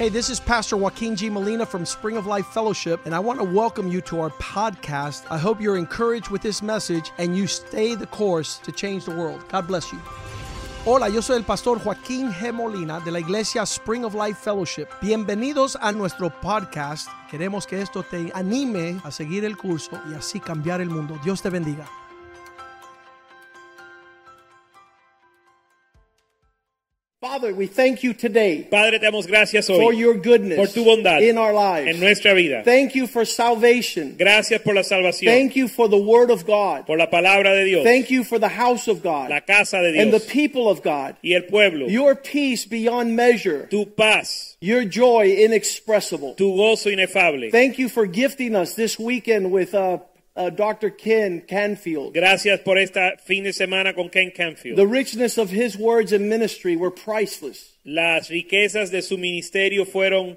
Hey, this is Pastor Joaquin G. Molina from Spring of Life Fellowship, and I want to welcome you to our podcast. I hope you're encouraged with this message and you stay the course to change the world. God bless you. Hola, yo soy el pastor Joaquín G. Molina de la iglesia Spring of Life Fellowship. Bienvenidos a nuestro podcast. Queremos que esto te anime a seguir el curso y así cambiar el mundo. Dios te bendiga. Father, we thank you today. Padre, te damos gracias hoy for your goodness por tu bondad in our lives. En nuestra vida. Thank you for salvation. Gracias por la salvación. Thank you for the word of God. Por la palabra de Dios. Thank you for the house of God. La casa de Dios. And the people of God. Y el pueblo. Your peace beyond measure. Tu paz. Your joy inexpressible. Tu gozo inefable. Thank you for gifting us this weekend with Dr. Ken Canfield. Gracias por esta fin de semana con Ken Canfield. The richness of his words and ministry were priceless. Las riquezas de su ministerio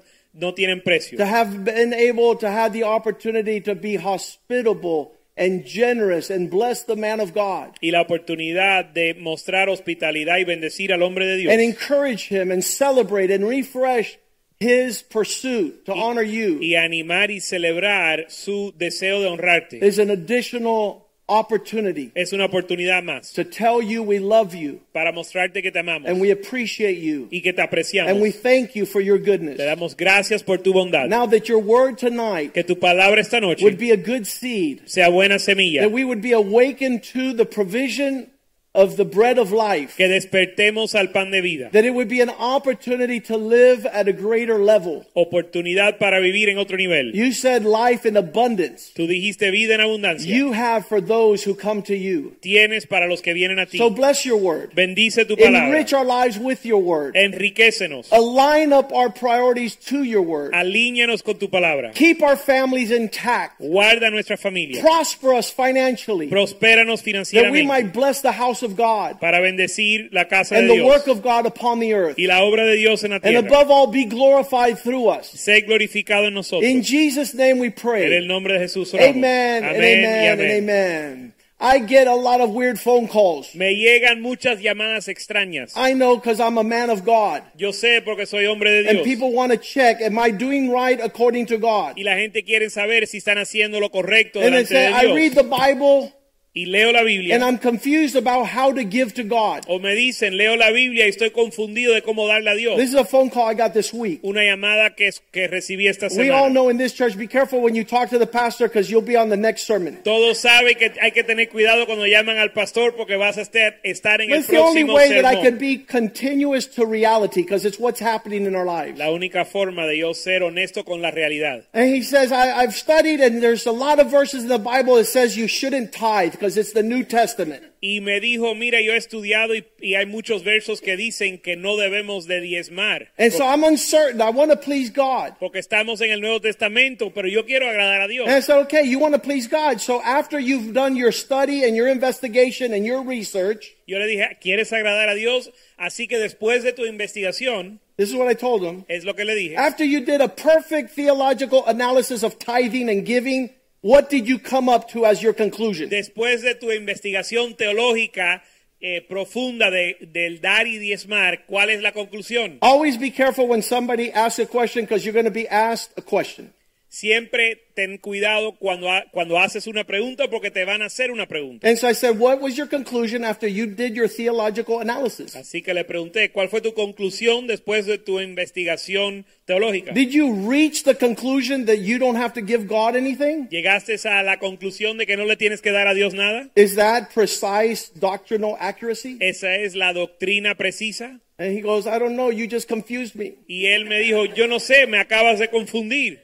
no tienen precio. To have been able to have the opportunity to be hospitable and generous and bless the man of God. Y la oportunidad de mostrar hospitalidad y bendecir al hombre de Dios. And encourage him and celebrate and refresh his pursuit to honor you. Y animar y celebrar su deseo de honrarte. Is an additional opportunity. Es una oportunidad más. To tell you we love you. Para mostrarte que te amamos. And we appreciate you. Y que te apreciamos. And we thank you for your goodness. Te damos gracias por tu bondad. Now that your word tonight que tu palabra esta noche would be a good seed. Sea buena semilla. That we would be awakened to the provision of the bread of life. Que despertemos al pan de vida. That it would be an opportunity to live at a greater level. Oportunidad para vivir en otro nivel. You said life in abundance. Tú dijiste vida en abundancia. You have for those who come to you. Tienes para los que vienen a ti. So bless your word. Bendice tu palabra. Enrich our lives with your word. Enriquécenos. Align up our priorities to your word. Alíñanos con tu palabra. Keep our families intact. Guarda nuestra familia. Prosper us financially. Prospéranos financieramente. That we might bless the house of God. Para bendecir la casa and de the Dios. work of God upon the earth. Y la obra de Dios en la tierra. And above all be glorified through us. Sé glorificado en nosotros. In Jesus' name we pray. En el nombre de Jesús oramos. Amen, amén and amen, y amén. and amen. I get a lot of weird phone calls. Me llegan muchas llamadas extrañas. I know because I'm a man of God. Yo sé porque soy hombre de Dios. And people want to check, am I doing right according to God? Y la gente quiere saber si están haciendo lo correcto and delante they say, de Dios. I read the Bible. Y leo la Biblia. And I'm confused about how to give to God. O me dicen, leo la Biblia y estoy confundido de cómo darle a Dios. This is a phone call I got this week. Una llamada que recibí esta semana. We all know in this church, be careful when you talk to the pastor because you'll be on the next sermon. Todos saben que hay que tener cuidado cuando llaman al pastor porque vas a estar en el próximo sermón. It's the only way that I can be continuous to reality because it's what's happening in our lives. La única forma de yo ser honesto con la realidad. And he says, I've studied and there's a lot of verses in the Bible that says you shouldn't tithe because it's the New Testament. Y me dijo, mira, yo he estudiado y hay muchos versos que dicen que no debemos de diezmar. And so I'm uncertain. I want to please God. Porque estamos en el Nuevo Testamento, pero yo quiero agradar a Dios. And I said, okay, you want to please God. So after you've done your study and your investigation and your research. Yo le dije, ¿quieres agradar a Dios? Así que después de tu investigación. This is what I told him. Es lo que le dije. After you did a perfect theological analysis of tithing and giving. What did you come up to as your conclusion? Después de tu investigación teológica profunda del dar y diezmar, ¿cuál es la conclusión? Always be careful when somebody asks a question because you're going to be asked a question. Siempre ten cuidado cuando haces una pregunta porque te van a hacer una pregunta. And so I said, what was your conclusion after you did your theological analysis? Así que le pregunté, ¿cuál fue tu conclusión después de tu investigación teológica? Did you reach the conclusion that you don't have to give God anything? ¿Llegaste a la conclusión de que no le tienes que dar a Dios nada? Is that precise doctrinal accuracy? ¿Esa es la doctrina precisa? And he goes, I don't know, you just confused me. Y él me dijo, yo no sé, me acabas de confundir.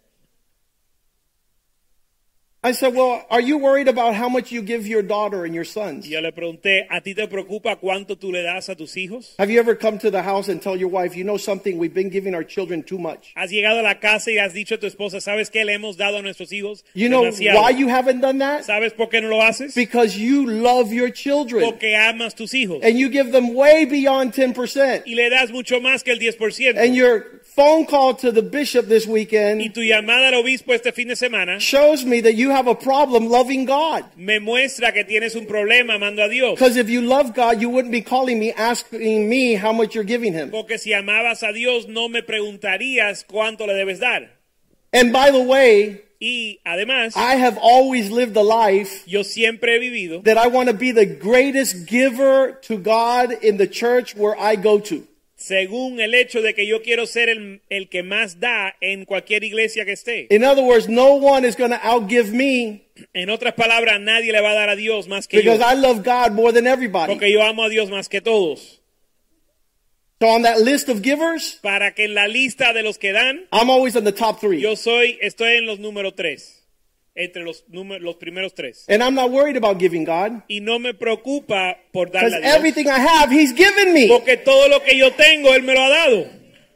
I said, well, are you worried about how much you give your daughter and your sons? Yo le pregunté, ¿a ti te preocupa cuánto tú le das a tus hijos? Have you ever come to the house and tell your wife, you know something, we've been giving our children too much? ¿Has llegado a la casa y has dicho a tu esposa, ¿sabes qué le hemos dado a nuestros hijos? You know demasiado? why you haven't done that? ¿Sabes por qué no lo haces? Because you love your children. Porque amas tus hijos. And you give them way beyond 10%. Y le das mucho más que el 10%. And you're phone call to the bishop this y weekend tu llamada al obispo este fin de semana shows me that you have a problem loving God. me muestra que tienes un problema amando a Dios. Because if you love God, you wouldn't be calling me, asking me how much you're giving him. Porque si amabas a Dios no me preguntarías cuánto le debes dar. And by the way, Y además, I have always lived a life yo siempre he vivido that I want to be the greatest giver to God in the church where I go to. según el hecho de que yo quiero ser el que más da en cualquier iglesia que esté. In other words, no one is going to outgive me En otras palabras, nadie le va a dar a Dios más que yo. because I love God more than everybody. Porque yo amo a Dios más que todos. So on that list of givers, Para que en la lista de los que dan, I'm always in the top 3. yo estoy en los números 3. Entre los primeros 3. And I'm not worried about giving God Y no me preocupa por because darle a Dios. everything I have, He's given me. Porque todo lo que yo tengo, Él me lo ha dado.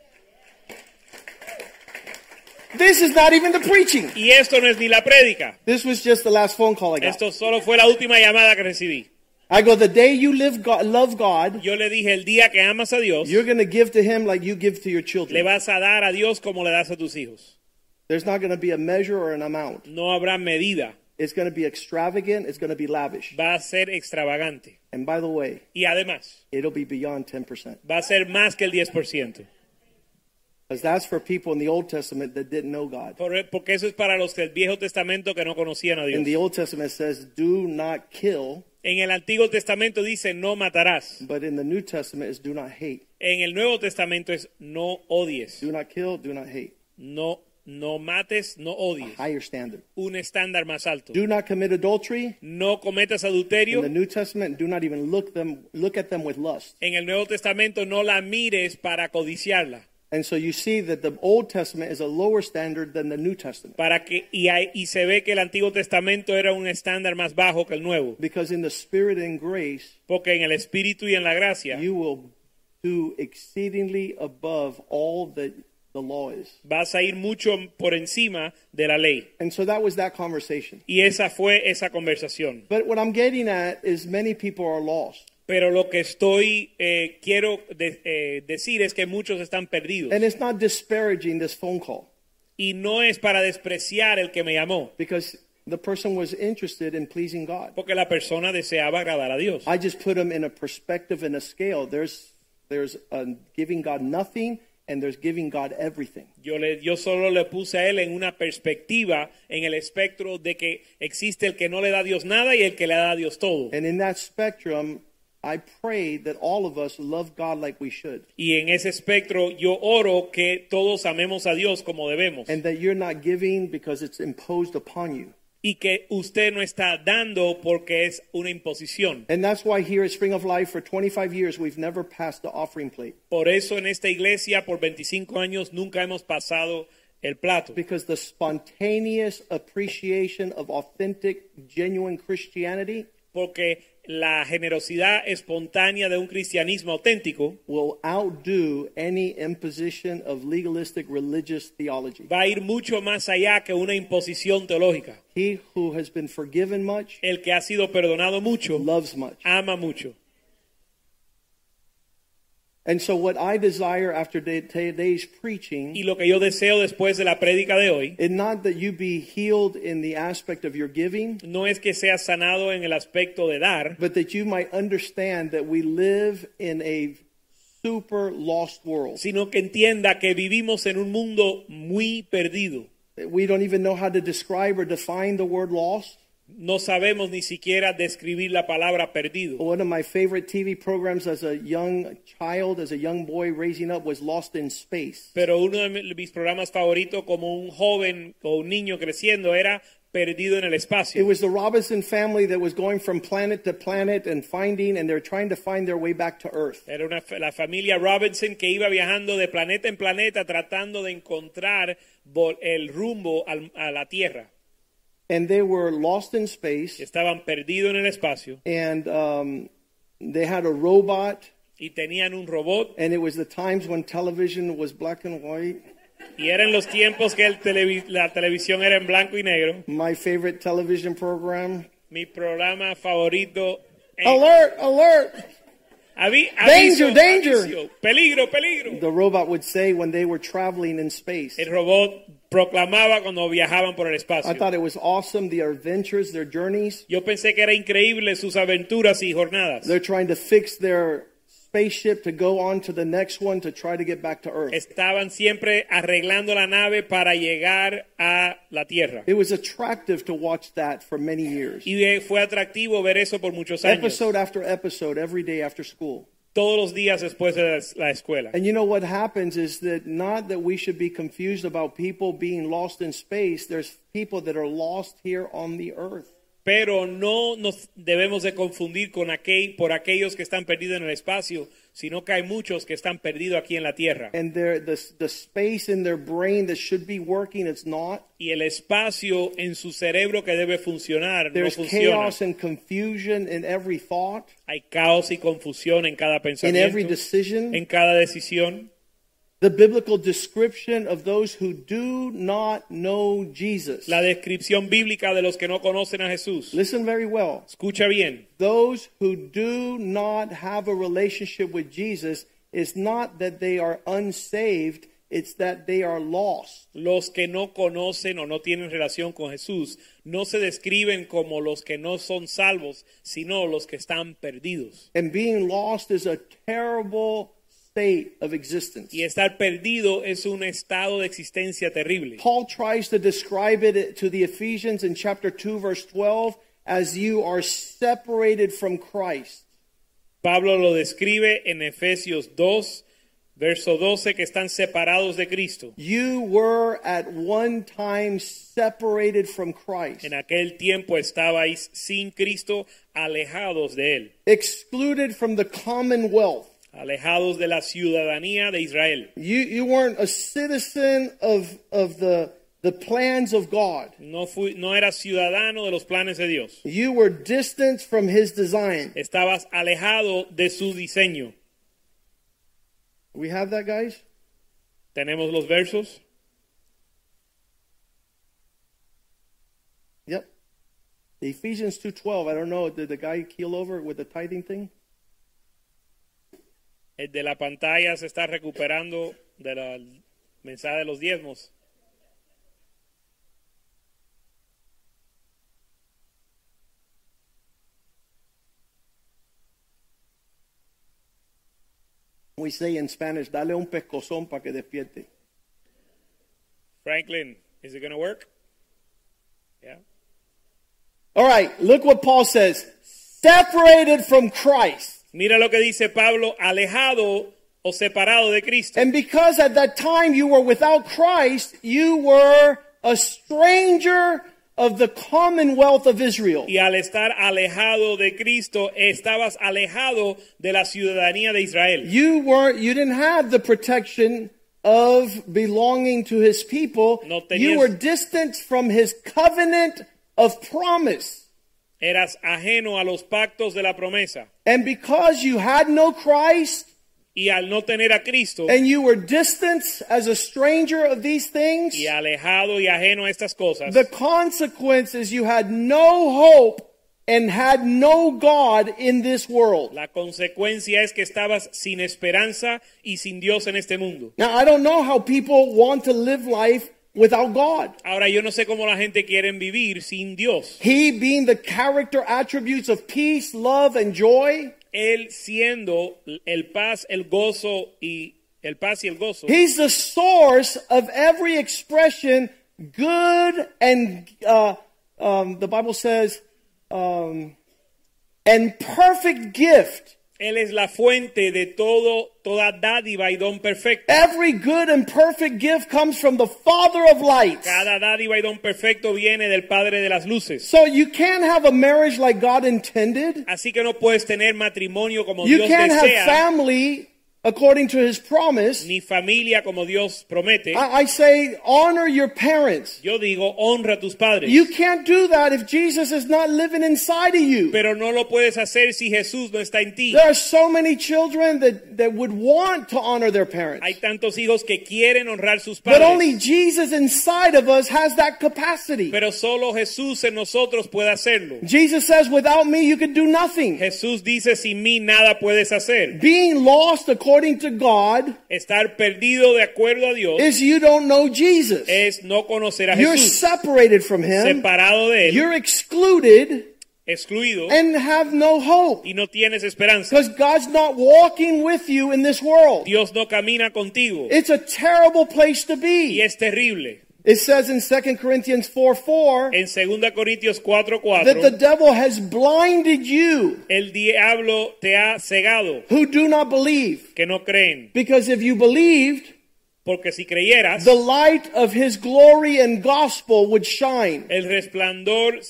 This is not even the preaching. Y esto no es ni la prédica. This was just the last phone call I got. Esto solo fue la última llamada que recibí. I go, the day you love God, Yo le dije, el día que amas a Dios, you're going to give to Him like you give to your le children. vas a dar a Dios como le das a tus hijos. There's not going to be a measure or an amount. No habrá medida. It's going to be extravagant. It's going to be lavish. Va a ser extravagante. And by the way, Y además, it'll be beyond 10%. va a ser más que el 10%. Because that's for people in the Old Testament that didn't know God. Porque eso es para los del Viejo Testamento que no conocían a In the Dios. Old Testament it says, do not kill. En el Antiguo Testamento dice, no matarás. But in the New Testament it's do not hate. En el Nuevo Testamento es, no odies. Do not kill, do not hate. No mates, no A odies. higher standard. Un estándar más alto. Do not commit adultery. No cometas In adulterio. the New Testament, do not even look at them with lust. En el Nuevo Testamento no la mires para codiciarla. And so you see that the Old Testament is a lower standard than the New Testament. Y se ve que el Antiguo Testamento era un estándar más bajo que el Nuevo. Because in the Spirit and grace, Porque en el Espíritu y en la gracia you will do exceedingly above all that the law is. vas a ir mucho por encima de la ley. And so that was that conversation. Y esa fue esa conversación. But what I'm getting at is many people are lost. Pero lo que quiero decir es que muchos están perdidos. And it's not disparaging this phone call. Y no es para despreciar el que me llamó. Because the person was interested in pleasing God. Porque la persona deseaba agradar a Dios. I just put them in a perspective and a scale. There's giving God nothing and there's giving God everything. Yo solo le puse a él en una perspectiva, en el espectro de que existe el que no le da a Dios nada y el que le da a Dios todo. And in that spectrum, I pray that all of us love God like we should. Y en ese espectro yo oro que todos amemos a Dios como debemos. And that you're not giving because it's imposed upon you. Y que usted no está dando porque es una imposición. And that's why here at Spring of Life for 25 years we've never passed the offering plate. Por eso en esta iglesia por 25 años nunca hemos pasado el plato. Because the spontaneous appreciation of authentic, genuine Christianity Porque la generosidad espontánea de un cristianismo auténtico will outdo any imposition of legalistic religious theology. va a ir mucho más allá que una imposición teológica. He who has been forgiven much El que ha sido perdonado mucho, loves much. ama mucho. And so what I desire after today's preaching Y lo que yo deseo después de la prédica de hoy is not that you be healed in the aspect of your giving, no es que seas sanado en el aspecto de dar, but that you might understand that we live in a super lost world. sino que entienda que vivimos en un mundo muy perdido. We don't even know how to describe or define the word lost. No sabemos ni siquiera describir la palabra perdido. One of my favorite TV programs as a young child, as a young boy raising up, was Lost in Space. Pero uno de mis programas favoritos como un joven o un niño creciendo era Perdido en el It espacio. was the Robinson family that was going from planet to planet and they're trying to find their way back to Earth. Era la familia Robinson que iba viajando de planeta en planeta tratando de encontrar el rumbo a la Tierra. And they were lost in space. Estaban perdidos en el espacio And they had a robot. y tenían un robot. And it was the times when television was black and white. Y eran los tiempos que la televisión era en blanco y negro. My favorite television program. Mi programa favorito. Alert! Alert! Aviso, danger. aviso, peligro, peligro. The robot would say when they were traveling in space. El robot proclamaba cuando viajaban por el espacio. I thought it was awesome, their adventures, their journeys. Yo pensé que era increíble sus aventuras y jornadas. They're trying to fix their spaceship to go on to the next one to try to get back to Earth. Estaban siempre arreglando la nave para llegar a la Tierra. It was attractive to watch that for many years. Y fue atractivo ver eso por muchos años. Episode after episode, every day after school. Todos los días después de la escuela. And you know what happens is that not that we should be confused about people being lost in space. There's people that are lost here on the earth. Pero no nos debemos de confundir por aquellos que están perdidos en el espacio, sino que hay muchos que están perdidos aquí en la tierra. And the space in their brain that should be working, it's not. Y el espacio en su cerebro que debe funcionar There's no funciona. chaos and confusion in every thought. Hay caos y confusión en cada In pensamiento, every decision. en cada decisión. The biblical description of those who do not know Jesus. La descripción bíblica de los que no conocen a Jesús. Listen very well. Escucha bien. Those who do not have a relationship with Jesus is not that they are unsaved, it's that they are lost. Los que no conocen o no tienen relación con Jesús no se describen como los que no son salvos, sino los que están perdidos. And being lost is a terrible state of existence. Y estar perdido es un estado de existencia terrible. Paul tries to describe it to the Ephesians in chapter 2 verse 12 as you are separated from Christ. Pablo lo describe en Efesios 2, verso 12, que están separados de Cristo. You were at one time separated from Christ. En aquel tiempo estabais sin Cristo, alejados de él, Excluded from the commonwealth. alejados de la ciudadanía de Israel. You weren't a citizen of the plans of God. No eras ciudadano de los planes de Dios. You were distant from his design. Estabas alejado de su diseño. We have that, guys? ¿Tenemos los versos? Yep. Ephesians 2:12. I don't know, did the guy keel over with the tithing thing? El de la pantalla se está recuperando del mensaje de los diezmos. We say in Spanish, dale un pescozón para que despierte. Franklin, is it going to work? Yeah. All right, look what Paul says. Separated from Christ. Mira lo que dice Pablo, alejado o separado de Cristo. And because at that time you were without Christ, you were a stranger of the commonwealth of Israel. Y al estar alejado de Cristo, estabas alejado de la ciudadanía de Israel. You didn't have the protection of belonging to his people. No tenías- You were distant from his covenant of promise. Eras ajeno a los pactos de la promesa. And because you had no Christ, Y al no tener a Cristo, and you were distant as a stranger of these things, y alejado y ajeno a estas cosas, the consequence is you had no hope and had no God in this world. la consecuencia es que estabas sin esperanza y sin Dios en este mundo. Now, I don't know how people want to live life without God. Ahora yo no sé cómo la gente quiere vivir sin Dios. He being the character attributes of peace, love, and joy. Él siendo el paz, el gozo y el gozo. He's the source of every expression, good and the Bible says, and perfect gift. Él es la fuente de toda dádiva y don perfecto. Every good and perfect gift comes from the Father of lights. Cada dádiva y don perfecto viene del Padre de las luces. So you can't have a marriage like God intended. Así que no puedes tener matrimonio como You Dios can't have desea. family according to his promise. ni familia como Dios promete. I say honor your parents. Yo digo, honra a tus padres. You can't do that if Jesus is not living inside of you. Pero no lo puedes hacer si Jesús no está en ti. There are so many children that would want to honor their parents. Hay tantos hijos que quieren honrar sus But padres. only Jesus inside of us has that capacity. Pero solo Jesús en nosotros puede hacerlo. Jesus says, without me, you can do nothing. Jesús dice, sin mí nada puedes hacer. Being lost according to God Estar perdido de acuerdo a Dios is you don't know Jesus. es no conocer a You're Jesús. separated from him. Separado de él, You're excluded excluido, and have no hope. y no tienes esperanza. Because God's not walking with you in this world. Dios no camina contigo. It's a terrible place to Y be. es terrible. It says in 2 Corinthians 4:4 En 2 Corintios that the 4:4, devil has blinded you el diablo te ha cegado, who do not believe. que no creen. Because if you believed, Porque si creyeras, the light of his glory and gospel would shine. el resplandor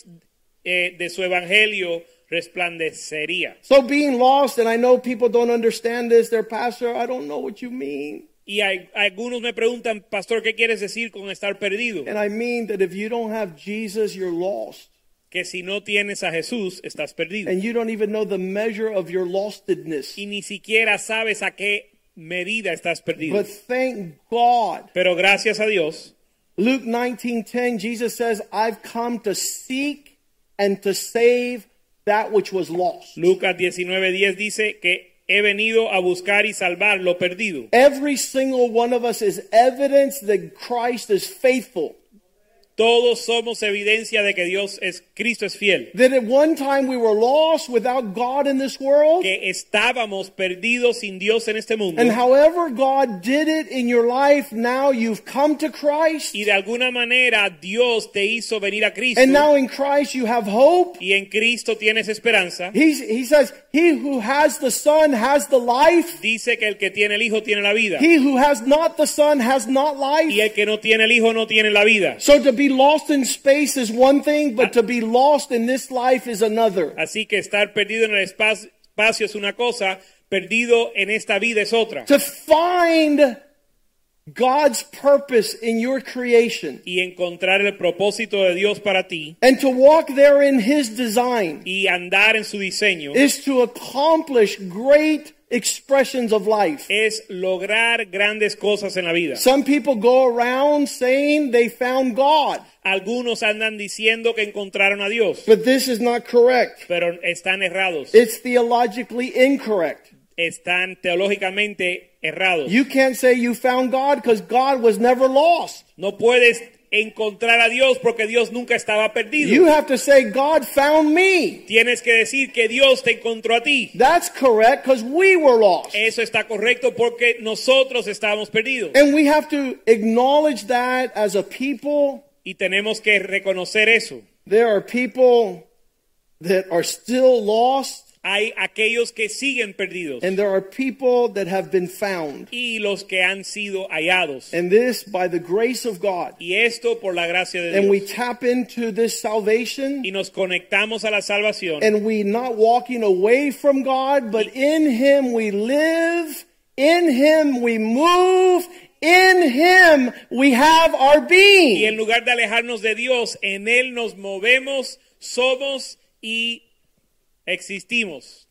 de su evangelio resplandecería. So being lost, and I know people don't understand this, their pastor, I don't know what you mean. Y algunos me preguntan, pastor, ¿qué quieres decir con estar perdido? And I mean that if you don't have Jesus, you're lost. Que si no tienes a Jesús, estás perdido. And you don't even know the measure of your lostedness. Y ni siquiera sabes a qué medida estás perdido. But thank God. Pero gracias a Dios, Luke 19:10, Jesus says, I've come to seek and to save that which was lost. Lucas 19:10 dice que he venido a buscar y salvar lo perdido. Every single one of us is evidence that Christ is faithful. Todos somos evidencia de que Cristo es fiel. That at one time we were lost without God in this world. Que estábamos perdidos sin Dios en este mundo. And however God did it in your life, now you've come to Christ. Y de alguna manera Dios te hizo venir a Cristo. And now in Christ you have hope. Y en Cristo tienes esperanza. He says, he who has the Son has the life. Dice que el que tiene el Hijo tiene la vida. He who has not the Son has not life. Y el que no tiene el Hijo no tiene la vida. So to be lost in space is one thing, but to be lost in this life is another. Así que estar perdido en el espacio es una cosa, perdido en esta vida es otra. To find God's purpose in your creation Y encontrar el propósito de Dios para ti and to walk there in His design y andar en su diseño is to accomplish great expressions of life. es lograr grandes cosas en la vida. Some people go around saying they found God, Algunos andan diciendo que encontraron a Dios, but this is not correct. pero están errados. It's theologically incorrect. Están teológicamente errados. You can't say you found God because God was never lost. No puedes encontrar a Dios porque Dios nunca estaba perdido. You have to say God found me. Tienes que decir que Dios te encontró a ti. That's correct because we were lost. Eso está correcto porque nosotros estábamos perdidos. And we have to acknowledge that as a people. Y tenemos que reconocer eso. There are people that are still lost. Hay aquellos que siguen perdidos. And there are people that have been found. Y los que han sido hallados. And this by the grace of God. Y esto por la gracia de Dios. And we tap into this salvation. Y nos conectamos a la salvación. And we not walking away from God, but in Him we live, in Him we move, in Him we have our being. Y en lugar de alejarnos de Dios, en Él nos movemos, somos y existimos.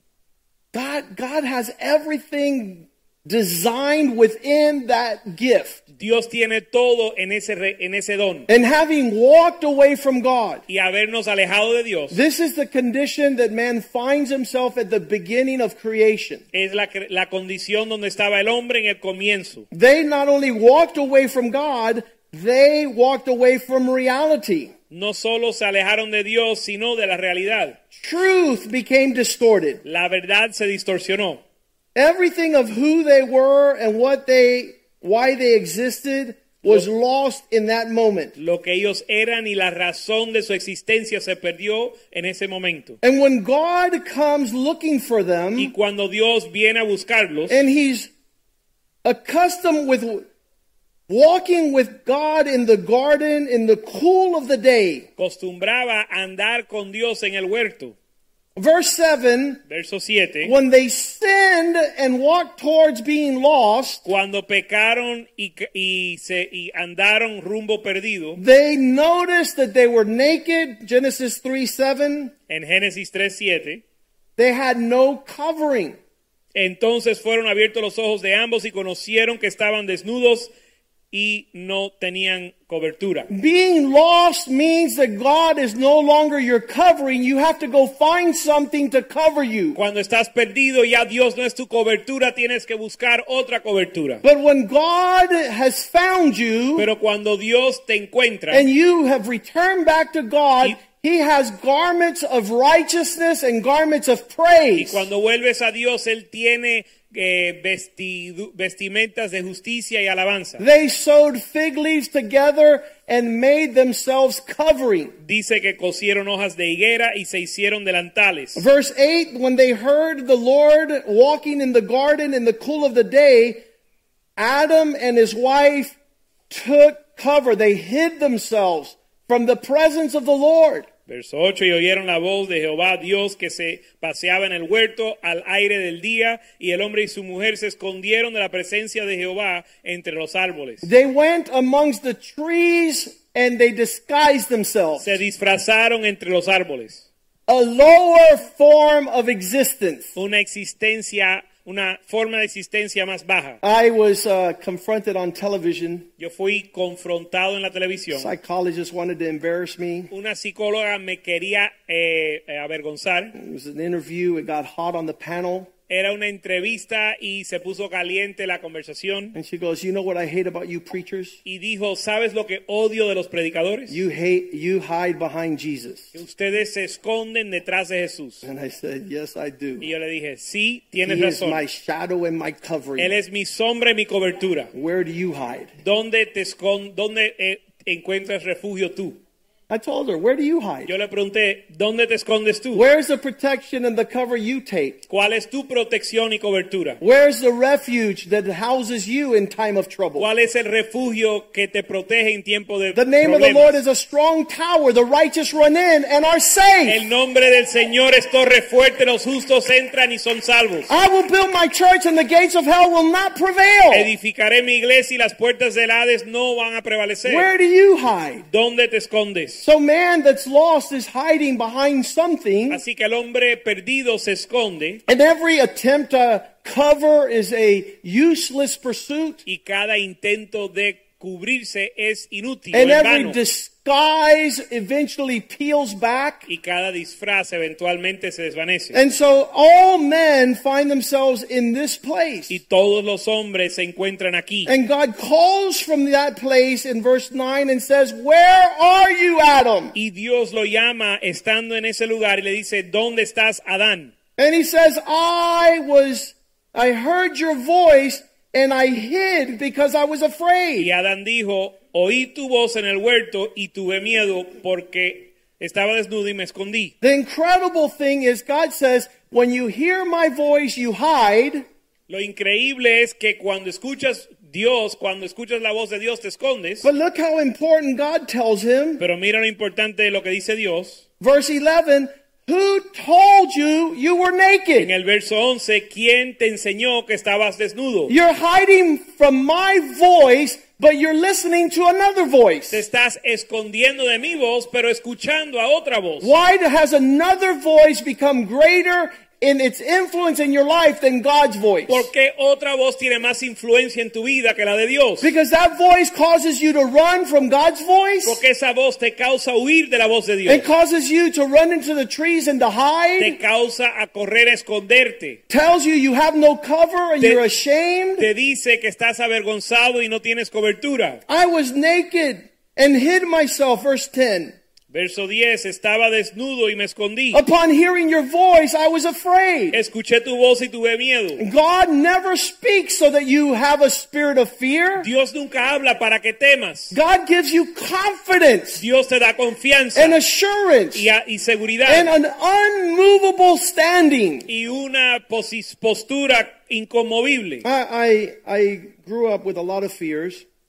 God has everything designed within that gift. Dios tiene todo en ese don. And having walked away from God, Y habernos alejado de Dios, this is the condition that man finds himself at the beginning of creation. es la condición donde estaba el hombre en el comienzo. They not only walked away from God, they walked away from reality. No solo se alejaron de Dios, sino de la realidad. Truth became distorted. La verdad se distorsionó. Everything of who they were and why they existed was lost in that moment. Lo que ellos eran y la razón de su existencia se perdió en ese momento. And when God comes looking for them, Y cuando Dios viene a buscarlos, and He's accustomed with walking with God in the garden in the cool of the day, acostumbraba a andar con Dios en el huerto. Verse 7, Verso 7. when they sinned and walked towards being lost, Cuando pecaron y andaron rumbo perdido, they noticed that they were naked. Genesis 3:7. en Génesis 3:7, They had no covering. entonces fueron abiertos los ojos de ambos y conocieron que estaban desnudos y no tenían cobertura. Being lost means that God is no longer your covering. You have to go find something to cover you. Cuando estás perdido, ya Dios no es tu cobertura, tienes que buscar otra cobertura. But when God has found you Pero cuando Dios te encuentra and you have returned back to God, He has garments of righteousness and garments of y praise. cuando vuelves a Dios, Él tiene vestimentas de justicia y alabanza. They sewed fig leaves together and made themselves covering. Dice que cosieron hojas de higuera y se hicieron delantales. Verse 8, when they heard the Lord walking in the garden in the cool of the day, Adam and his wife took cover. They hid themselves from the presence of the Lord. Verso 8, y oyeron la voz de Jehová Dios que se paseaba en el huerto al aire del día, y el hombre y su mujer se escondieron de la presencia de Jehová entre los árboles. They went amongst the trees and they disguised themselves. Se disfrazaron entre los árboles. A lower form of existence. Una forma de existencia más baja. I was confronted on television. Yo fui confrontado en la televisión. Psychologists wanted to embarrass me. Una psicóloga me quería avergonzar. It was an interview. It got hot on the panel. Era una entrevista y se puso caliente la conversación. And she goes, you know what I hate about you preachers? Y dijo, ¿sabes lo que odio de los predicadores? You hide behind Jesus. Que ustedes se esconden detrás de Jesús. And I said, yes, I do. Y yo le dije, sí, tienes He is razón. my shadow and my covering. Él es mi sombra y mi cobertura. Where do you hide? ¿Dónde encuentras refugio tú? I told her, where do you hide? Yo le pregunté, ¿dónde te escondes tú? Where's the protection and the cover you take? ¿Cuál es tu protección y cobertura? Where's the refuge that houses you in time of trouble? ¿Cuál es el refugio que te protege en tiempo de The name problemas? of the Lord is a strong tower. The righteous run in and are safe. El nombre del Señor es torre fuerte, los justos entran y son salvos. I will build my church and the gates of hell will not prevail. Edificaré mi iglesia y las puertas del Hades no van a prevalecer. Where do you hide? ¿Dónde te escondes? So man that's lost is hiding behind something. Así que el hombre perdido se esconde. And every attempt to cover is a useless pursuit. Y cada intento de cubrirse es inútil, And o en every vano. disguise eventually peels back. Y cada disfraz eventualmente se desvanece. And so all men find themselves in this place. Y todos los hombres se encuentran aquí. And God calls from that place in verse 9 and says, where are you, Adam? Y Dios lo llama estando en ese lugar y le dice, ¿dónde estás, Adán? And he says, I heard your voice and I hid because I was afraid. Y Adán dijo, oí tu voz en el huerto y tuve miedo porque estaba desnudo y me escondí. The incredible thing is God says, when you hear my voice, you hide. Lo increíble es que cuando escuchas la voz de Dios te escondes. But look how important God tells him. Pero mira lo importante de lo que dice Dios. Verse 11, who told you you were En naked? el verso 11, ¿quién te enseñó que estabas desnudo? You're hiding from my voice, but you're listening to another voice. Te estás escondiendo de mi voz, pero escuchando a otra voz. Why has another voice become greater in its influence in your life than God's voice? ¿Por qué otra voz tiene más influencia en tu vida que la de Dios? Because that voice causes you to run from God's voice. Porque esa voz te causa huir de la voz de Dios. It causes you to run into the trees and to Te hide. causa a correr, a esconderte. Tells you have no cover and Te- you're ashamed. Te dice que estás avergonzado y no tienes cobertura. I was naked and hid myself, verse 10. Verso 10, estaba desnudo y me escondí. Upon hearing your voice, I was afraid. Escuché tu voz y tuve miedo. God never speaks so that you have a spirit of fear. Dios nunca habla para que temas. God gives you confidence Dios te da confianza and assurance y seguridad and an unmovable standing. y una postura inconmovible. I grew up with a lot of fears.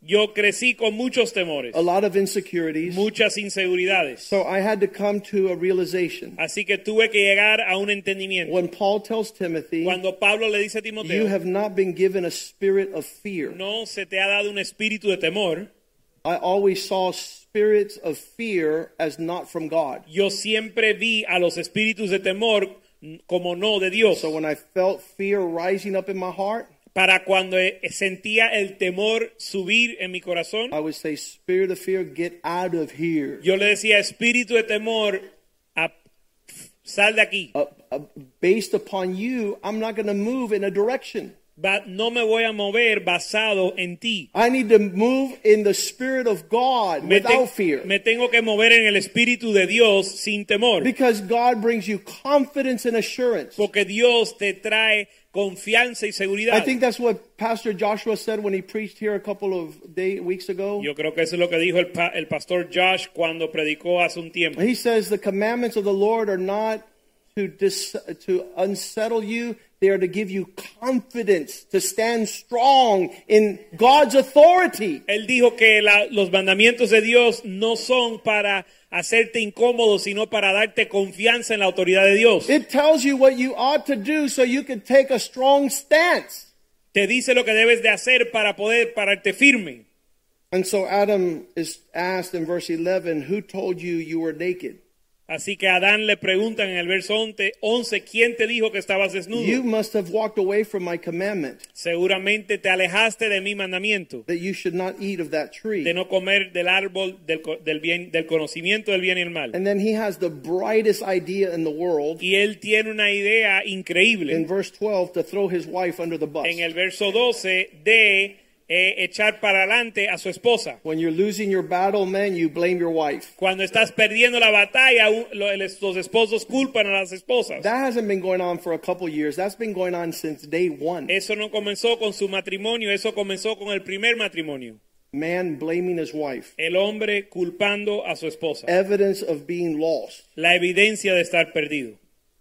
Yo crecí con muchos temores, a lot of insecurities. muchas inseguridades. So I had to come to a realization. Así que tuve que llegar a un entendimiento. When Paul tells Timothy, Cuando Pablo le dice a you Timoteo, have not been given a spirit of fear. no se te ha dado un espíritu de temor. I always saw spirits of fear as not from God. Yo siempre vi a los espíritus de temor como no de Dios. So when I felt fear rising up in my heart, Para cuando sentía el temor subir en mi corazón, I would say, spirit of fear, get out of here. yo le decía, espíritu de temor, sal de aquí. Based upon you, I'm not going to move in a direction. No me voy a mover basado en ti. I need to move in the Spirit of God without fear. Me tengo que mover en el Espíritu de Dios sin temor. Because God brings you confidence and assurance. Porque Dios te trae confianza y seguridad. I think that's what Pastor Joshua said when he preached here a couple of weeks ago. Yo creo que eso es lo que dijo el pastor Josh cuando predicó hace un tiempo. He says the commandments of the Lord are not to unsettle you. They are to give you confidence to stand strong in God's authority. Él dijo que los mandamientos de Dios no son para hacerte incómodo, sino para darte confianza en la autoridad de Dios. It tells you what you ought to do so you can take a strong stance. Te dice lo que debes de hacer para poder pararte firme. And so Adam is asked in verse 11, who told you you were naked? Así que a Adán le preguntan en el verso 11, ¿quién te dijo que estabas desnudo? You must have walked away from my commandment. Seguramente te alejaste de mi mandamiento. That you should not eat of that tree. De no comer del árbol del conocimiento del bien y el mal. And then he has the brightest idea in the world. Y él tiene una idea increíble. In verse 12 to throw his wife under the bus. En el verso 12 de echar para adelante a su esposa. When you're losing your battle, man, you blame your wife. Cuando estás perdiendo la batalla, los esposos culpan a las esposas. That hasn't been going on for a couple years. That's been going on since day one. Eso no comenzó con su matrimonio, eso comenzó con el primer matrimonio. Man blaming his wife. El hombre culpando a su esposa. Evidence of being lost. La evidencia de estar perdido.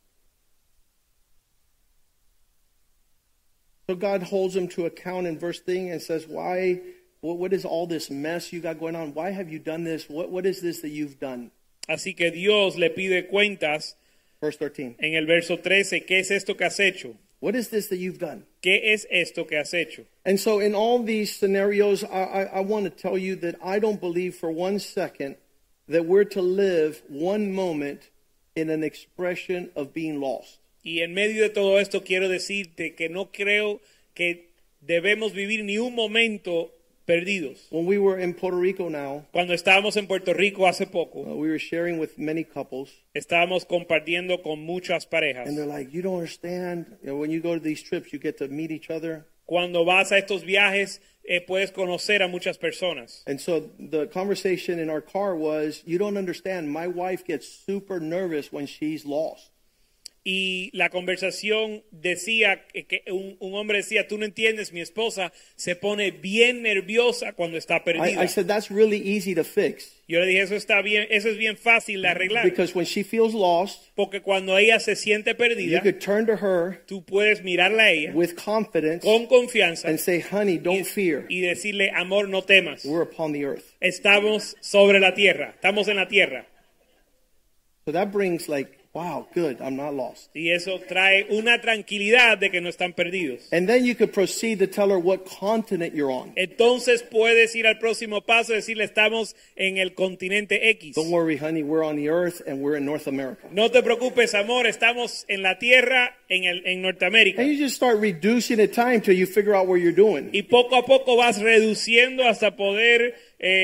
So God holds him to account in verse 13 and says, why, what is all this mess you got going on? Why have you done this? What is this that you've done? Así que Dios le pide cuentas. Verse 13. En el verso 13, ¿qué es esto que has hecho? What is this that you've done? ¿Qué es esto que has hecho? And so in all these scenarios, I want to tell you that I don't believe for 1 second that we're to live one moment in an expression of being lost. Y en medio de todo esto quiero decirte que no creo que debemos vivir ni un momento perdidos. When we were in Puerto Rico now, Cuando estábamos en Puerto Rico hace poco, we were sharing with many couples. estábamos compartiendo con muchas parejas. And they're like, you don't understand. You know, when you go to these trips, you get to meet each other. Cuando vas a estos viajes, puedes conocer a muchas personas. And so the conversation in our car was, you don't understand. My wife gets super nervous when she's lost. Y la conversación decía que un hombre decía, tú no entiendes, mi esposa se pone bien nerviosa cuando está perdida. I said, that's really easy to fix. Yo le dije, eso está bien, eso es bien fácil de arreglar. Because when she feels lost, porque cuando ella se siente you perdida, could turn to her tú puedes mirarla a ella with confidence con confianza and say, honey, don't fear. y decirle, amor, no temas. We're upon the earth. Estamos sobre la tierra, estamos en la tierra. So that brings like, wow, good, I'm not lost. Y eso trae una tranquilidad de que no están perdidos. And then you could proceed to tell her what continent you're on. Entonces puedes ir al próximo paso y decirle, estamos en el continente X. Don't worry, honey, we're on the earth and we're in North America. No te preocupes, amor, estamos en la tierra en Norteamérica. And you just start reducing the time till you figure out where you're doing. Y poco a poco vas reduciendo hasta poder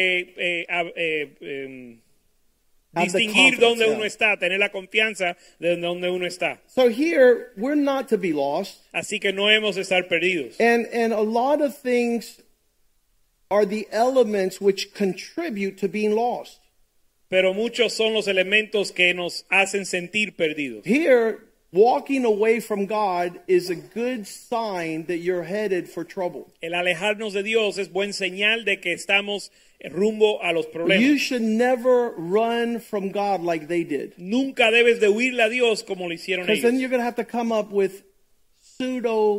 distinguir dónde uno está, tener la confianza de dónde uno está. So here, we're not to be lost. Así que no hemos de estar perdidos. And a lot of things are the elements which contribute to being lost. Pero muchos son los elementos que nos hacen sentir perdidos. Here, walking away from God is a good sign that you're headed for trouble. El alejarnos de Dios es buen señal de que estamos rumbo a los problemas. You should never run from God like they did. Nunca debes de huirle a Dios como lo hicieron Because then ellos. you're going to have to come up with pseudo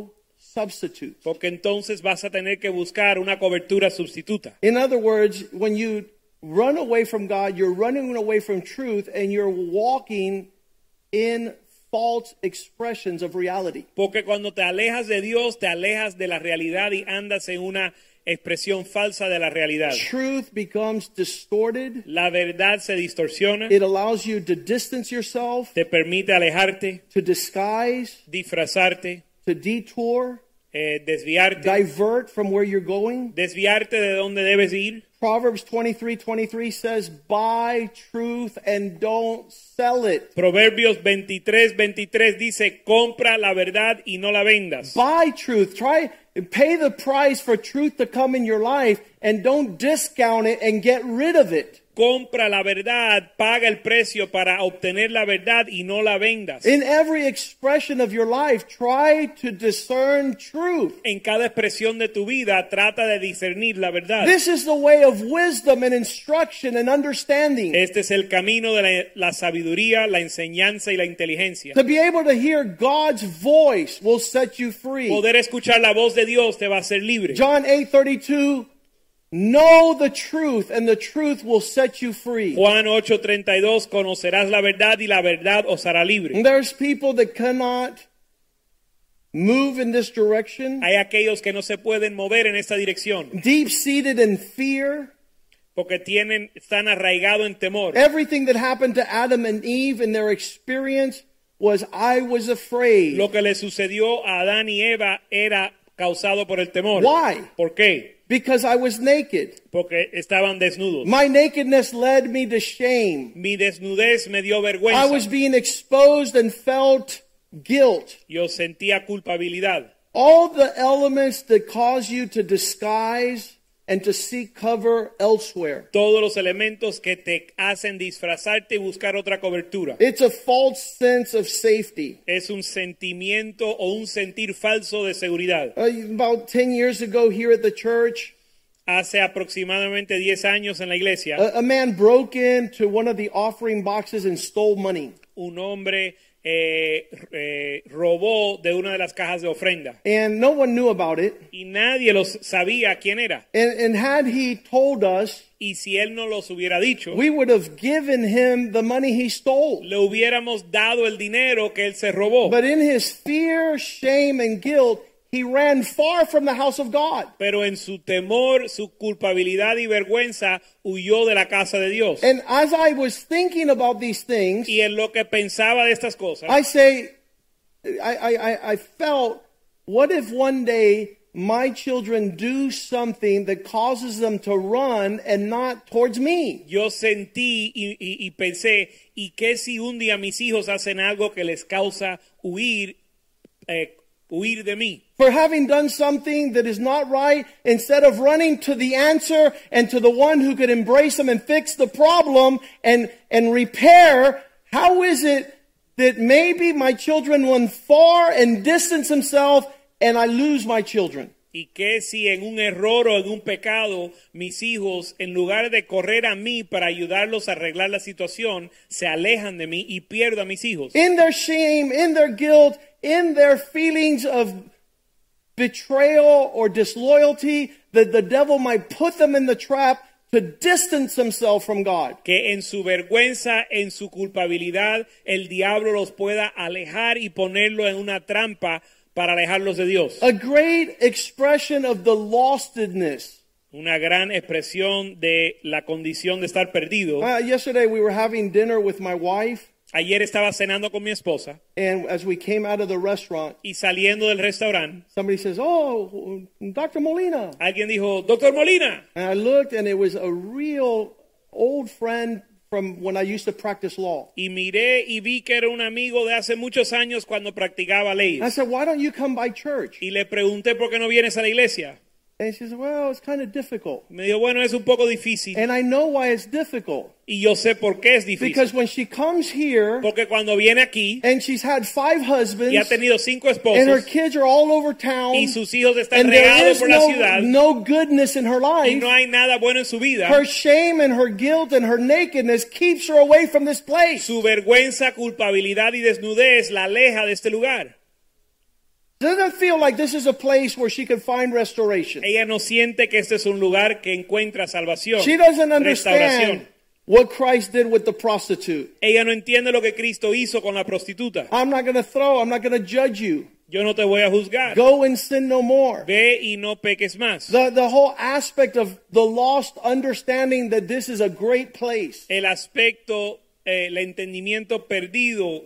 substitute. Porque entonces vas a tener que buscar una cobertura sustituta. In other words, when you run away from God, you're running away from truth, and you're walking in false expressions of reality. Porque cuando te alejas de Dios, te alejas de la realidad y andas en una expresión falsa de la realidad. Truth becomes distorted. La verdad se distorsiona, It allows you to distance yourself, te permite alejarte, to disguise, disfrazarte, to detour, desviarte, divert from where you're going. desviarte de donde debes ir. Proverbs 23:23 says, buy truth and don't sell it. Proverbios 23:23 dice, compra la verdad y no la vendas. Buy truth. Pay the price for truth to come in your life, and don't discount it and get rid of it. Compra la verdad, paga el precio para obtener la verdad y no la vendas. In every expression of your life, try to discern truth. En cada expresión de tu vida, trata de discernir la verdad. This is the way of wisdom and instruction and understanding. Este es el camino de la sabiduría, la enseñanza y la inteligencia. To be able to hear God's voice will set you free. Poder escuchar la voz de Dios te va a hacer libre. John 8:32, know the truth and the truth will set you free. Juan 8:32, conocerás la verdad y la verdad os hará libre. And there's people that cannot move in this direction, Hay aquellos que no se pueden mover en esta dirección deep-seated in fear. porque están arraigados en temor. Everything that happened to Adam and Eve in their experience was, I was afraid. Lo que le sucedió a Adán y Eva era causado por el temor. Why? ¿Por qué? Because I was naked. Porque estaban desnudos. My nakedness led me to shame. Mi desnudez me dio I vergüenza. was being exposed and felt guilt. Yo sentía culpabilidad. All the elements that cause you to disguise and to seek cover elsewhere. Todos los elementos que te hacen disfrazarte y buscar otra cobertura. It's a false sense of safety. Es un sentimiento o un sentir falso de seguridad. About 10 years ago here at the church, Hace aproximadamente 10 años en la iglesia, a man broke into one of the offering boxes and stole money. un hombre robó de una de las cajas de ofrenda. And no one knew about it. Y nadie los sabía quién era. And had he told us, Y si él no los hubiera dicho, we would have given him the money he stole. le hubiéramos dado el dinero que él se robó. But in his fear, shame, and guilt, he ran far from the house of God. Pero en su temor, su culpabilidad y vergüenza, huyó de la casa de Dios. And as I was thinking about these things, Y en lo que pensaba de estas cosas, I felt, what if one day my children do something that causes them to run and not towards me? yo sentí y pensé, ¿y qué si un día mis hijos hacen algo que les causa huir de mí? For having done something that is not right, instead of running to the answer and to the one who could embrace them and fix the problem and repair, how is it that maybe my children run far and distance themselves and I lose my children? ¿Y qué si en un error o en un pecado mis hijos, en lugar de correr a mí para ayudarlos a arreglar la situación, se alejan de mí y pierdo a mis hijos? In their shame, in their guilt, in their feelings of betrayal or disloyalty, that the devil might put them in the trap to distance themselves from God. Que en su vergüenza, en su culpabilidad, el diablo los pueda alejar y ponerlo en una trampa para alejarlos de Dios. A great expression of the lostedness. Una gran expresión de la condición de estar perdido. Yesterday we were having dinner with my wife. Ayer estaba cenando con mi esposa And as we came out of the restaurant, y saliendo del restaurante, somebody says, "Oh, Dr. Molina." alguien dijo, Doctor Molina. And I looked and it was a real old friend from when I used to practice law. Y miré y vi que era un amigo de hace muchos años cuando practicaba And I leyes. said, "Why don't you come by church?" Y le pregunté por qué no vienes a la iglesia. And she said, "Well, it's kind of difficult." Me dijo, bueno, es un poco difícil. And I know why it's difficult. Y yo sé por qué es Because difícil. when she comes here Porque cuando viene aquí and she's had 5 husbands y ha tenido 5 and her esposos kids are all over town y sus hijos están and there regados is por la ciudad no goodness in her y life, no hay nada bueno en su vida, her shame and her guilt and her nakedness keeps her away from this place. su vergüenza, culpabilidad y desnudez la aleja de este lugar. Doesn't feel like this is a place where she could find restoration. Ella no siente que este es un lugar que encuentra salvación, She doesn't restauración. understand what Christ did with the prostitute. Ella no entiende lo que Cristo hizo con la prostituta. I'm not going to judge you. Yo no te voy a juzgar. Go and sin no more. Ve y no peques más. The whole aspect of the lost understanding that this is a great place. El aspecto, el entendimiento perdido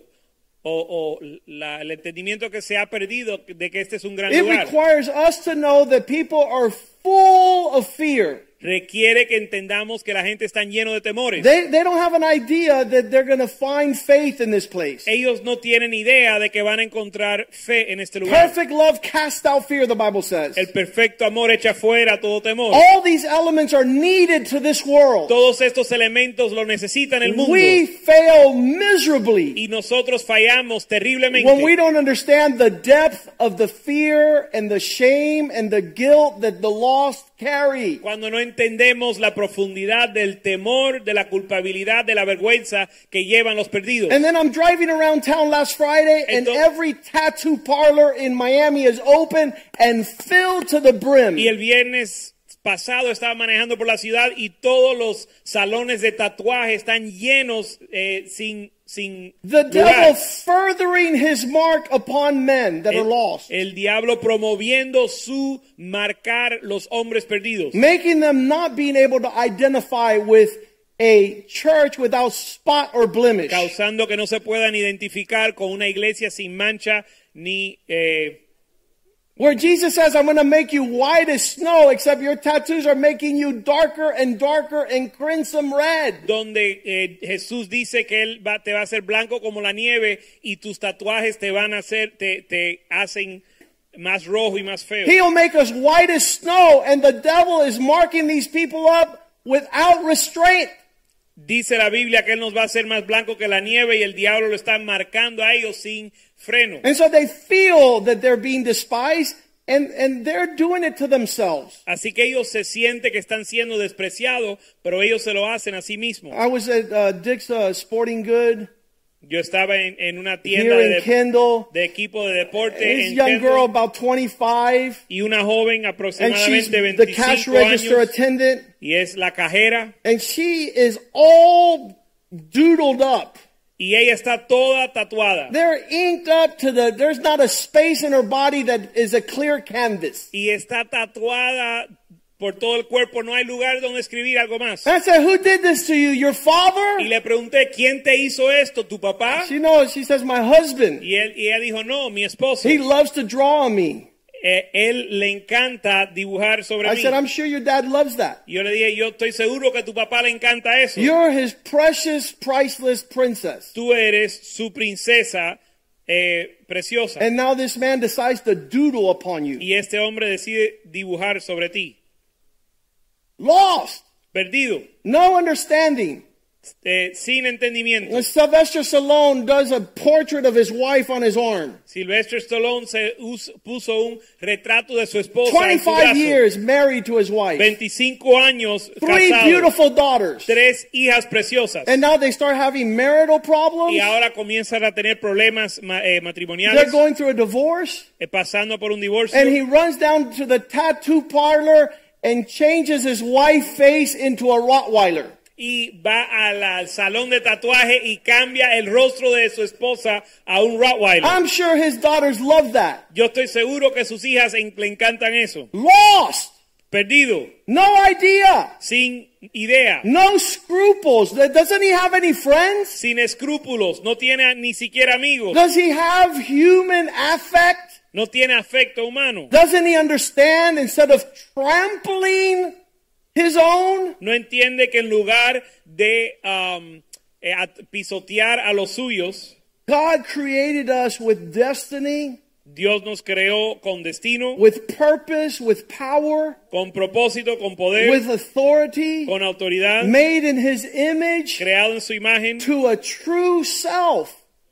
el entendimiento que se ha perdido de que este es un gran It lugar. requires us to know that people are full of fear. Requiere que entendamos que la gente está lleno de temores. They don't have an idea that they're going to find faith in this place. Ellos no tienen idea de que van a encontrar fe en este lugar. Perfect love casts out fear, the Bible says. El perfecto amor echa fuera todo temor. All these elements are needed to this world. Todos estos elementos lo necesitan el mundo. We fail miserably Y nosotros fallamos terriblemente when we don't understand the depth of the fear and the shame and the guilt that the lost carry. cuando no entendemos la profundidad del temor, de la culpabilidad, de la vergüenza que llevan los perdidos. And then I'm driving around town last Friday, and every tattoo parlor in Miami is open and filled to the brim. Y el viernes pasado estaba manejando por la ciudad y todos los salones de tatuaje están llenos sin The lugar. devil furthering his mark upon men that are lost. El diablo promoviendo su marcar los hombres perdidos. Making them not being able to identify with a church without spot or blemish. Causando que no se puedan identificar con una iglesia sin mancha ni Where Jesus says, I'm going to make you white as snow, except your tattoos are making you darker and darker and crimson red. donde Jesús dice que él te va a hacer blanco como la nieve y tus tatuajes te van a hacer te hacen más rojo y más feo. He'll make us white as snow, and the devil is marking these people up without restraint. Dice la Biblia que él nos va a hacer más blanco que la nieve y el diablo lo está marcando a ellos sin freno. And so they feel that they're being despised, and they're doing it to themselves. Así que ellos se sienten que están siendo despreciados, pero ellos se lo hacen a sí mismos. I was at Dick's Sporting Good Yo estaba en una tienda here in Kendall. de equipo de deporte This en young Kendall, girl, about 25, y una joven and she's aproximadamente the cash 25 register años attendant, y es la cajera and she is all doodled up. y ella está toda tatuada. They're inked up to there's not a space in her body that is a clear canvas. Y está tatuada por todo el cuerpo, no hay lugar donde escribir algo más. And I said, who did this to you? Your Y father? le pregunté, ¿quién te hizo esto? ¿Tu papá? She knows. She says, my husband. Y ella dijo, no, mi esposo. He loves to draw on me. Él le encanta dibujar sobre I mí. said, I'm sure your dad loves that. Yo le dije, yo estoy seguro que tu papá le encanta eso. You're his precious, priceless princess. Tú eres su princesa preciosa. And now this man decides to doodle upon you. Y este hombre decide dibujar sobre ti. Lost. Perdido. No understanding. Sin entendimiento. When Sylvester Stallone does a portrait of his wife on his arm. Sylvester Stallone puso un retrato de su esposa en su 25 brazo. years married to his wife. 25 años 3 casado. beautiful daughters. 3 hijas preciosas. And now they start having marital problems. Y ahora comienzan a tener problemas They're matrimoniales, going through a divorce. Pasando por un divorcio. And he runs down to the tattoo parlor and changes his wife's face into a Rottweiler. Y va al salón de tatuaje y cambia el rostro de su esposa a un Rottweiler. I'm sure his daughters love that. Yo estoy seguro que sus hijas le encantan eso. Lost. Perdido, No idea. sin idea, No scruples. Doesn't he have any friends? sin escrúpulos, no tiene ni siquiera amigos, Does he have human affect? no tiene afecto humano. Doesn't he understand instead of trampling his own? No entiende que en lugar de pisotear a los suyos, God created us with destiny, Dios nos creó con destino, with purpose, with power, con propósito, con poder, with authority, con autoridad, made in his image creado en su imagen, to a true self,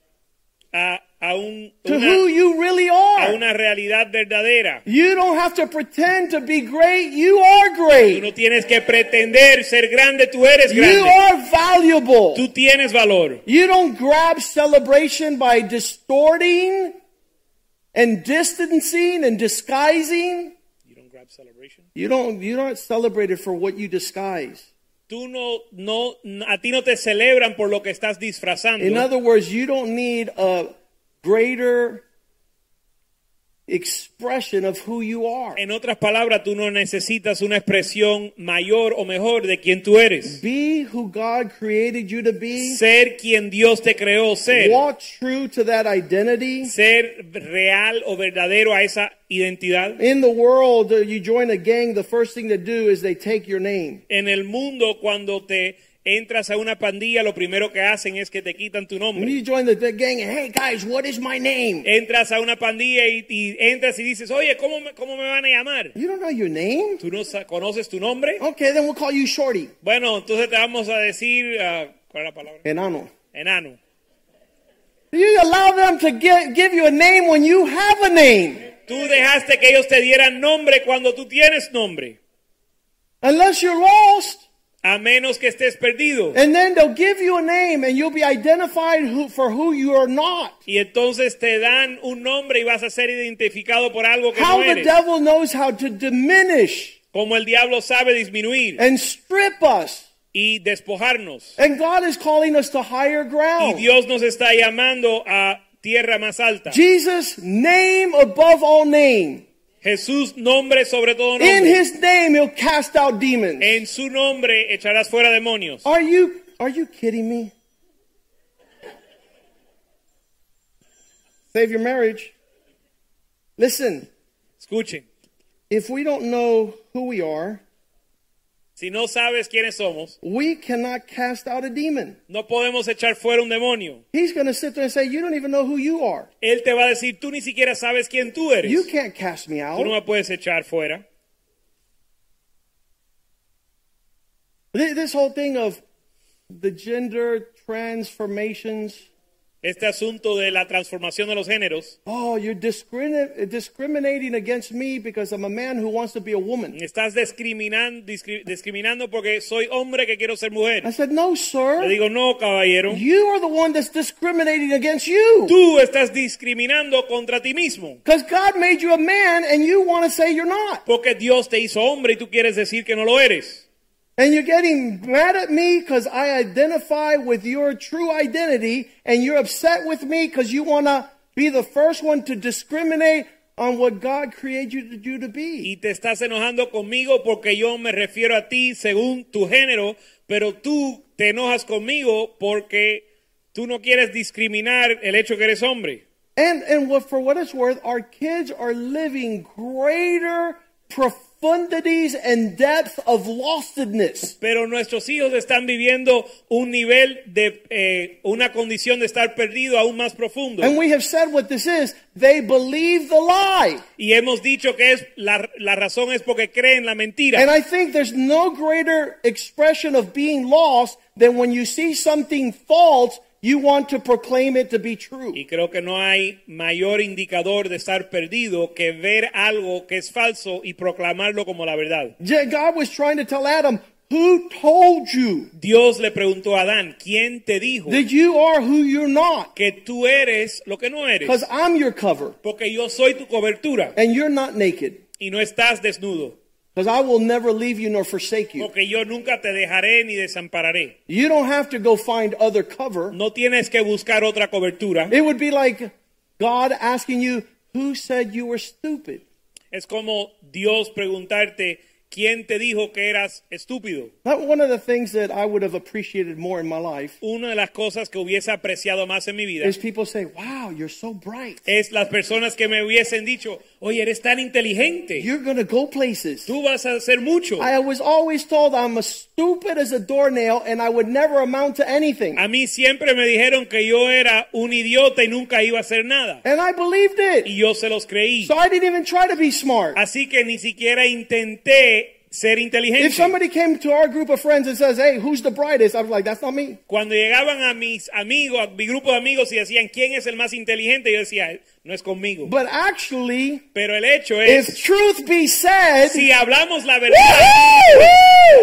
to who a you really are. una realidad verdadera. You don't have to pretend to be great. You are Tú great. no tienes que pretender ser grande, tú eres You grande. are valuable. Tú tienes valor. You don't grab celebration by distorting and distancing and disguising, You don't grab celebration. you're not celebrated for what you disguise. Tú a ti no te celebran por lo que estás disfrazando. In other words, you don't need a greater expression of who you are. En otras palabras, tú no necesitas una expresión mayor o mejor de quien tú eres. Be who God created you to be. Ser quien Dios te creó ser. Walk true to that identity. Ser real o verdadero a esa identidad. In the world, you join a gang, the first thing to do is they take your name. En el mundo, cuando te entras a una pandilla, lo primero que hacen es que te quitan tu When nombre. you join the gang, hey guys, what is my name? Entras a una pandilla y entras y dices, oye, ¿cómo me van a llamar? You don't know your name? ¿Tú no conoces tu nombre? Okay, then we'll call you Shorty. Bueno, entonces te vamos a decir, ¿cuál es la palabra? Enano. Enano. You allow them to give you a name when you have a name. Tú dejaste que ellos te dieran nombre cuando tú tienes nombre. Unless you're lost. A menos que estés perdido. And then they'll give you a name and you'll be identified for who you are not. Y entonces te dan un nombre y vas a ser identificado por algo que How no the eres. devil knows how to diminish Como el diablo sabe disminuir and strip us. y despojarnos. And God is calling us to higher Y ground. Dios nos está llamando a tierra más alta. Jesus, name above all name. Jesús, nombre sobre todo In nombre. his name he'll cast out demons. En su nombre echarás fuera demonios. Are you kidding me? Save your marriage. Listen, Escuchen, if we don't know who we are, si no sabes quiénes somos, we cannot cast out a demon. no podemos echar fuera un demonio. He's going to sit there and say, you don't even know who you are. Él te va a decir, tú ni siquiera sabes quién tú eres. You can't cast me Tú no out. me puedes echar fuera. This whole thing of the gender transformations. Este asunto de la transformación de los géneros. Oh, you're discriminating against me because I'm a man who wants to be a woman. Estás discriminando porque soy hombre que quiero ser mujer. I said, no, Le sir. digo, no, caballero. You are the one that's discriminating against you. Tú estás discriminando contra ti mismo. Because God made you a man and you want to say you're not. Porque Dios te hizo hombre y tú quieres decir que no lo eres. And you're getting mad at me because I identify with your true identity, and you're upset with me because you want to be the first one to discriminate on what God created you to be. Y te estás enojando conmigo porque yo me refiero a ti según tu género, pero tú te enojas conmigo porque tú no quieres discriminar el hecho que eres hombre. And for what it's worth, our kids are living greater profundities and depth of lostedness. Pero nuestros hijos están viviendo un nivel de una condición de estar perdido aún más profundo. And we have said what this is. They believe the lie. Y hemos dicho que es la razón es porque creen la mentira. And I think there's no greater expression of being lost than when you see something false, you want to proclaim it to be true. Y creo que no hay mayor indicador de estar perdido que ver algo que es falso y proclamarlo como la verdad. God was trying to tell Adam, who told you Dios le preguntó a Adán, ¿quién te dijo that you are who you're not? que tú eres lo que no eres? Because I'm your cover Porque yo soy tu cobertura and you're not naked. y no estás desnudo. Because I will never leave you nor forsake you. Porque yo nunca te dejaré ni desampararé. You don't have to go find other cover. No tienes que buscar otra cobertura. It would be like God asking you, who said you were stupid? Es como Dios preguntarte, ¿quién te dijo que eras estúpido? One of the things that I would have appreciated more in my life Una de las cosas que hubiese apreciado más en mi vida is people say, wow, you're so bright. es las personas que me hubiesen dicho, oye, eres tan inteligente. You're going to go places. Tú vas a hacer mucho. I was always told I'm as stupid as a doornail and I would never amount to anything. A mí siempre me dijeron que yo era un idiota y nunca iba a hacer nada. And I believed it. Y yo se los creí. So I didn't even try to be smart. Así que ni siquiera intenté ser inteligente. If somebody came to our group of friends and says, hey, who's the brightest? I was like, that's not me. Cuando llegaban a mis amigos, a mi grupo de amigos y decían, ¿quién es el más inteligente? Yo decía, no es conmigo. But actually, Pero el hecho if es, truth be said, si hablamos la verdad, woo-hoo!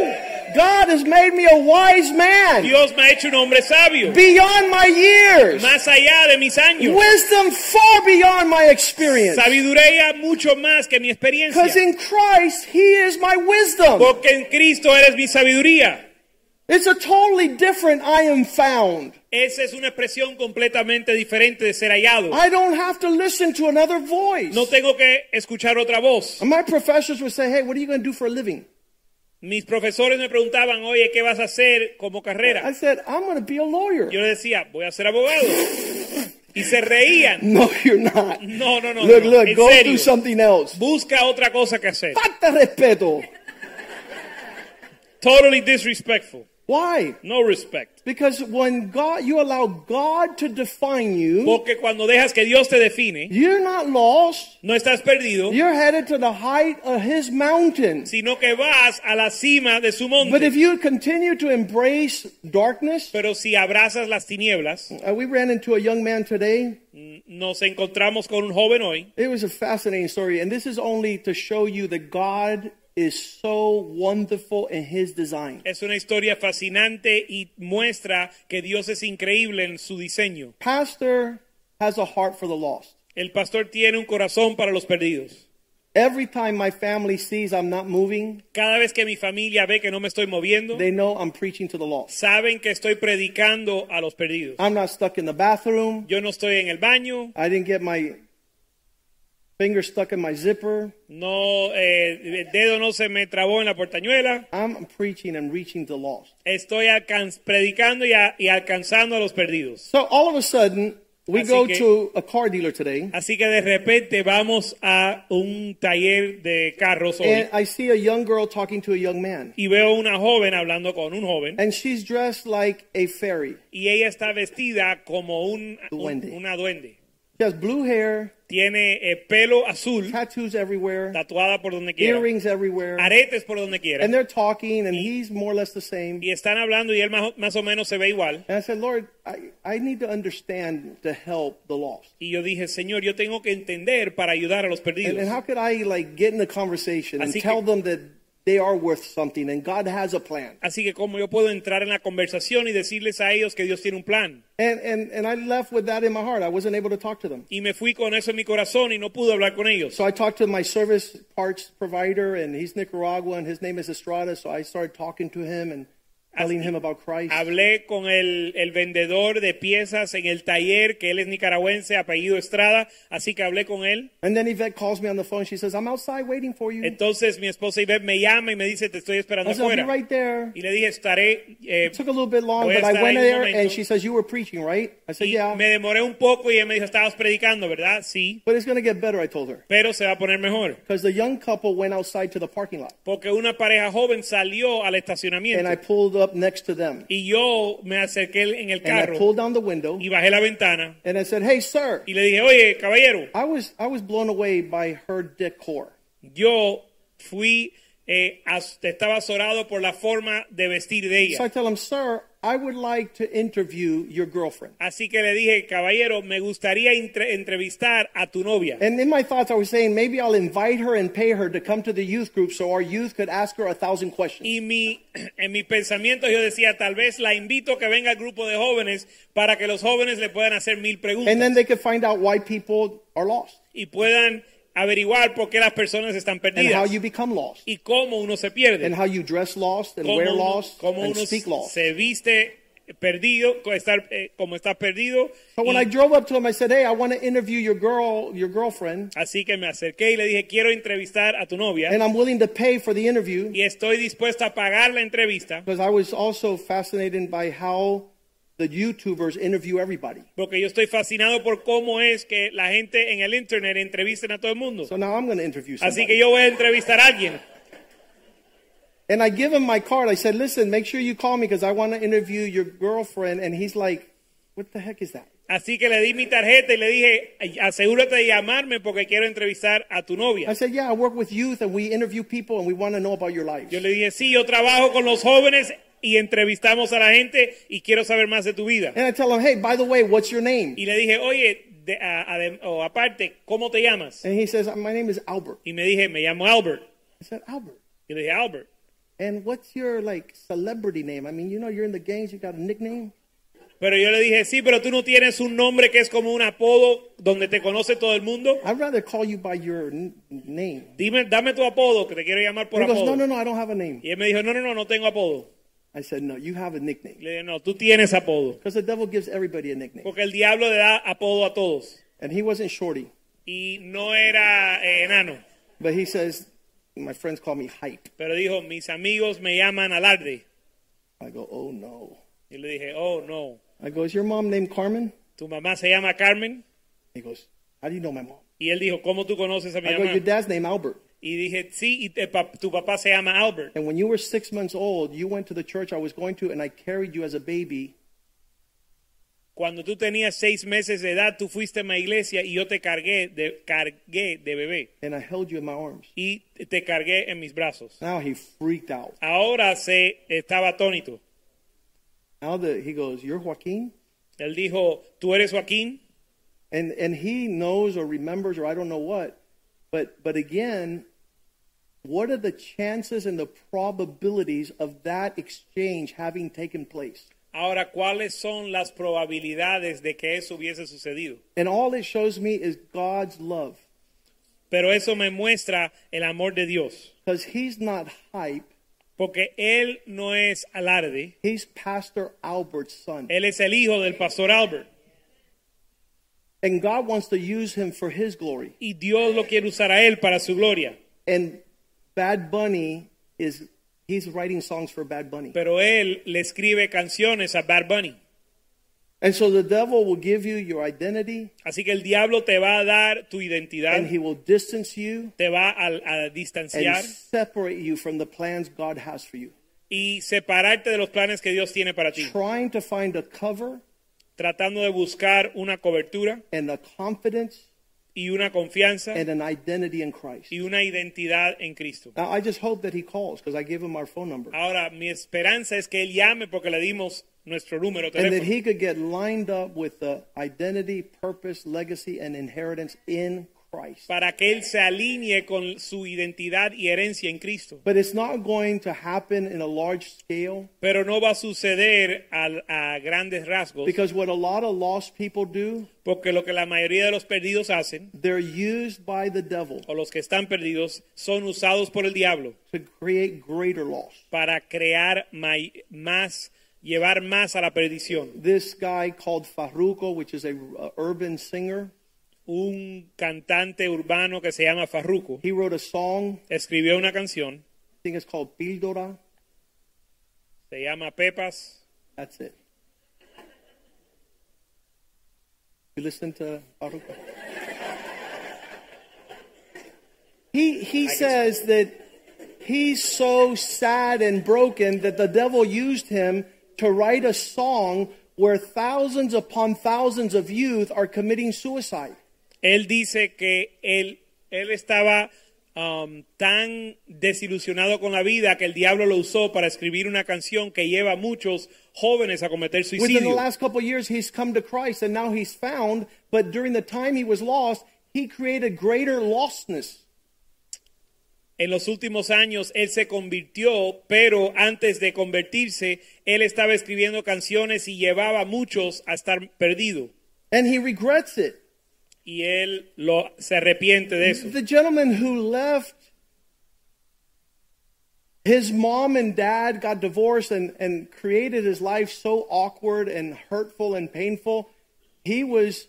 God has made me a wise man. Dios me ha hecho un hombre sabio, Beyond my years. más allá de mis años. Wisdom far beyond my experience. Sabiduría mucho más que mi experiencia. Because in Christ, He is my wisdom. Porque en Cristo eres mi sabiduría. It's a totally different I am found. Esa es una expresión completamente diferente de ser hallado. I don't have to listen to another voice. No tengo que escuchar otra voz. And my professors would say, hey, what are you going to do for a living? Mis profesores me preguntaban, oye, ¿qué vas a hacer como carrera? I said, I'm going to be a lawyer. Yo le decía, voy a ser abogado. Y se reían. No, you're not. No, no, no. Look, no. look, En go serio. do something else. Busca otra cosa que hacer. Falta de respeto. Totally disrespectful. Why? No respect. Because when you allow God to define you, Porque cuando dejas que Dios te define, you're not lost. no estás perdido, You're headed to the height of His mountain. sino que vas a la cima de su But if monte. you continue to embrace darkness, Pero si abrazas las tinieblas, we ran into a young man today. nos encontramos con un joven hoy. It was a fascinating story, and this is only to show you that God is so wonderful in His design. Es una historia fascinante y muestra que Dios es increíble en su diseño. Pastor has a heart for the lost. El pastor tiene un corazón para los perdidos. Every time my family sees I'm not moving, Cada vez que mi familia ve que no me estoy moviendo, they know I'm preaching to the lost. saben que estoy predicando a los perdidos. I'm not stuck in the bathroom. Yo no estoy en el baño, I didn't get my finger stuck in my zipper. no, el dedo no se me trabó en la portañuela. I'm preaching and reaching the lost. Estoy predicando y alcanzando a los perdidos. So all of a sudden, we Así go que- to a car dealer today, Así que de repente vamos a un taller de carros hoy and I see a young girl talking to a young man. y veo una joven hablando con un joven And she's dressed like a fairy. y ella está vestida como Duende. una duende. She has blue hair, Tiene pelo azul, tattoos everywhere, tatuada por donde quiera, earrings everywhere. aretes por donde quiera. And they're talking, and he's more or less the same. Y están hablando y él más o menos se ve igual. And I said, Lord, I need to understand to help the lost. Y yo dije, Señor, yo tengo que entender para ayudar a los perdidos. And how could I get in a conversation and Así tell que- them that they are worth something and God has a plan? Así que como yo puedo entrar en la conversación y decirles a ellos que Dios tiene un plan. And I left with that in my heart. I wasn't able to talk to them. Y me fui con eso en mi corazón y no pude hablar con ellos. So I talked to my service parts provider, and he's Nicaraguan. His name is Estrada. So I started talking to him and telling him about Christ. Hablé con el vendedor de piezas en el taller, que él es nicaragüense, apellido Estrada, así que hablé con él. And then Yvette calls me on the phone. She says, I'm outside waiting for you. Entonces mi esposa Ivette me llama y me dice, te estoy esperando I said, I'll be afuera. right there. Y le dije, estaré... It took a little bit long, voy a but I estar went ahí un there, and momento. she says, you were preaching, right? I said, Y yeah. me demoré un poco y ella me dijo, estabas predicando, ¿verdad? Sí, But it's going to get better, I told her. pero se va a poner mejor. Because the young couple went outside to the parking lot. Porque una pareja joven salió al And I estacionamiento pulled up next to them. y yo me acerqué en el And I carro pulled down the window. y bajé la ventana And I said, hey, sir. y le dije, oye, caballero, I was blown away by her decor. yo fui, estaba azorado por la forma de vestir de So I ella. tell him, sir, I would like to interview your girlfriend. Así que le dije, caballero, me gustaría entrevistar a tu novia. And in my thoughts, I was saying, maybe I'll invite her and pay her to come to the youth group so our youth could ask her 1,000 questions. Y en mi pensamiento yo decía, tal vez la invito a que venga al grupo de jóvenes para que los jóvenes le puedan hacer 1000 preguntas. And then they could find out why people are lost Y puedan averiguar por qué las personas están and how perdidas you become lost y cómo uno se pierde. and how you dress lost and wear lost cómo and uno speak lost. se viste perdido, como está perdido. So when Y I drove up to him, I said, hey, I want to interview your girlfriend, así que me acerqué y le dije, quiero entrevistar a tu novia and I'm willing to pay for the interview y estoy dispuesta a pagar la entrevista because I was also fascinated by how the YouTubers interview everybody. porque yo estoy fascinado por cómo es que la gente en el internet entrevisten a todo el mundo. So now I'm going to interview Así somebody. que yo voy a entrevistar a alguien. And I give him my card. I said, listen, make sure you call me because I want to interview your girlfriend. And he's like, what the heck is that? Así que le di mi tarjeta y le dije, asegúrate de llamarme porque quiero entrevistar a tu I novia. said, yeah, I work with youth and we interview people and we want to know about your lives. Yo le dije, sí, yo trabajo con los jóvenes y entrevistamos a la gente y quiero saber más de tu vida. And I tell him, hey, by the way, what's your name? Y le dije, oye, aparte, ¿cómo te llamas? And he says, my name is Albert. Y me dije, me llamo Albert. I said, Albert. Y le dije, Albert. and what's your like celebrity name? I mean, you know, you're in the gangs, you got a nickname? Pero yo le dije, sí, pero tú no tienes un nombre que es como un apodo donde te conoce todo el mundo. I'd rather call you by your name. Dame tu apodo, que te quiero llamar por He goes, apodo. no, I don't have a name. Y él me dijo, no tengo apodo. I said, no, you have a nickname. Le dije, no, tú tienes apodo. Because the devil gives everybody a nickname. Porque el diablo le da apodo a todos. And he wasn't Shorty. Y no era enano. But he says, my friends call me Hype. Pero dijo, mis amigos me llaman Alarde. I go, oh no. Y le dije, oh no. I go, is your mom named Carmen? ¿Tu mamá se llama Carmen? He goes, how do you know my mom? Y él dijo, ¿cómo tú conoces a mi I go, mamá? your dad's named Albert. Y dije, sí, y tu papá se llama Albert. And when you were 6 months old, you went to the church I was going to, and I carried you as a baby. Cuando tú tenías 6 meses de edad, tú fuiste a mi iglesia y yo te cargué de bebé. And I held you in my arms. Y te cargué en mis brazos. Now he freaked out. Ahora estaba atónito. Now he goes, you're Joaquin? Él dijo, ¿tú eres Joaquín? And he knows or remembers or I don't know what. But again, what are the chances and the probabilities of that exchange having taken place? Ahora, ¿cuáles son las probabilidades de que eso hubiese sucedido? And all it shows me is God's love. Pero eso me muestra el amor de Dios. Because he's not Hype. Porque él no es Alarde. He's Pastor Albert's son. Él es el hijo del pastor Albert. And God wants to use him for his glory. Y Dios lo quiere usar a él para su gloria. And Bad Bunny he's writing songs for Bad Bunny. Pero él le escribe canciones a Bad Bunny. And so the devil will give you your identity. Así que el diablo te va a dar tu identidad. And he will distance you. Te va a distanciar. And separate you from the plans God has for you. Y separarte de los planes que Dios tiene para ti. Trying to find a cover. Tratando de buscar una cobertura. And a confidence. Y una confianza. And an identity in Christ. Y una identidad en Cristo. Now, I just hope that he calls because I gave him our phone number. Ahora, mi esperanza es que él llame porque le dimos nuestro número de teléfono. teléfono. And that he could get lined up with the identity, purpose, legacy, and inheritance in Christ. Para que él se alinee con su identidad y herencia en Cristo. But it's not going to happen in a large scale. Pero no va a suceder a grandes rasgos. Because what a lot of lost people do, porque lo que la mayoría de los perdidos hacen, they're used by the devil, o los que están perdidos son usados por el diablo, to create greater loss. Para crear llevar más a la perdición. This guy called Farruko, which is a urban singer. Un cantante urbano que se llama Farruko. He wrote a song. Escribió una canción. I think it's called Píldora. Se llama Pepas. That's it. You listen to Farruko? He says that he's so sad and broken that the devil used him to write a song where thousands upon thousands of youth are committing suicide. Él dice que él estaba tan desilusionado con la vida que el diablo lo usó para escribir una canción que lleva a muchos jóvenes a cometer suicidio. Within the last couple of years, he's come to Christ and now he's found, but during the time he was lost, he created greater lostness. En los últimos años él se convirtió, pero antes de convertirse, él estaba escribiendo canciones y llevaba a muchos a estar perdido. And he regrets it. Y él se arrepiente de eso. The gentleman who left, his mom and dad got divorced and created his life so awkward and hurtful and painful. He was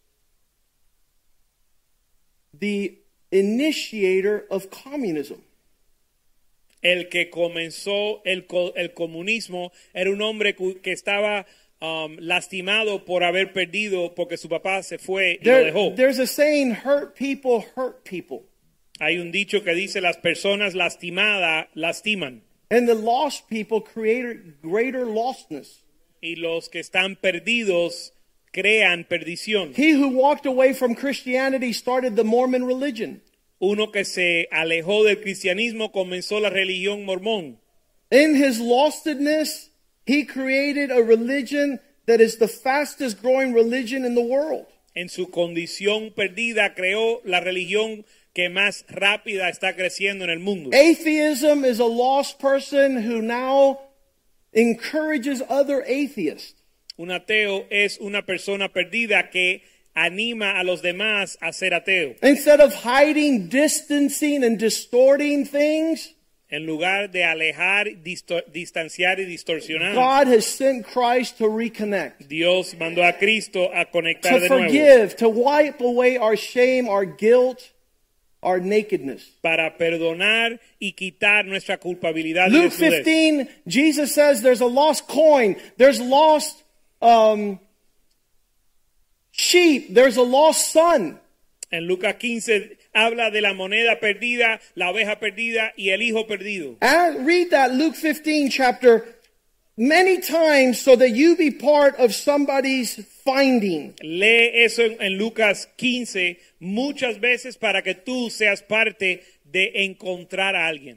the initiator of communism. El que comenzó el comunismo era un hombre que estaba lastimado por haber perdido porque su papá se fue y lo dejó. There's a saying, hurt people hurt people. Hay un dicho que dice las personas lastimadas lastiman. And the lost people create greater lostness. Y los que están perdidos crean perdición. He who walked away from Christianity started the Mormon religion. Uno que se alejó del cristianismo comenzó la religión mormón. In his lostedness, he created a religion that is the fastest growing religion in the world. En su condición perdida creó la religión que más rápida está creciendo en el mundo. Atheism is a lost person who now encourages other atheists. Un ateo es una persona perdida que anima a los demás a ser ateo. Instead of hiding, distancing, and distorting things, En lugar de alejar, distanciar y distorsionar, God has sent Christ to reconnect, Dios mandó a Cristo a conectar to de nuevo forgive, to wipe away our shame, our guilt, our nakedness. para perdonar y quitar nuestra culpabilidad y Luke desnudez. 15, Jesus says there's a lost coin, there's lost sheep, there's a lost son. En Lucas 15 habla de la moneda perdida, la oveja perdida y el hijo perdido. And read that Luke 15 chapter many times so that you be part of somebody's finding. Lee eso en Lucas 15 muchas veces para que tú seas parte de encontrar a alguien.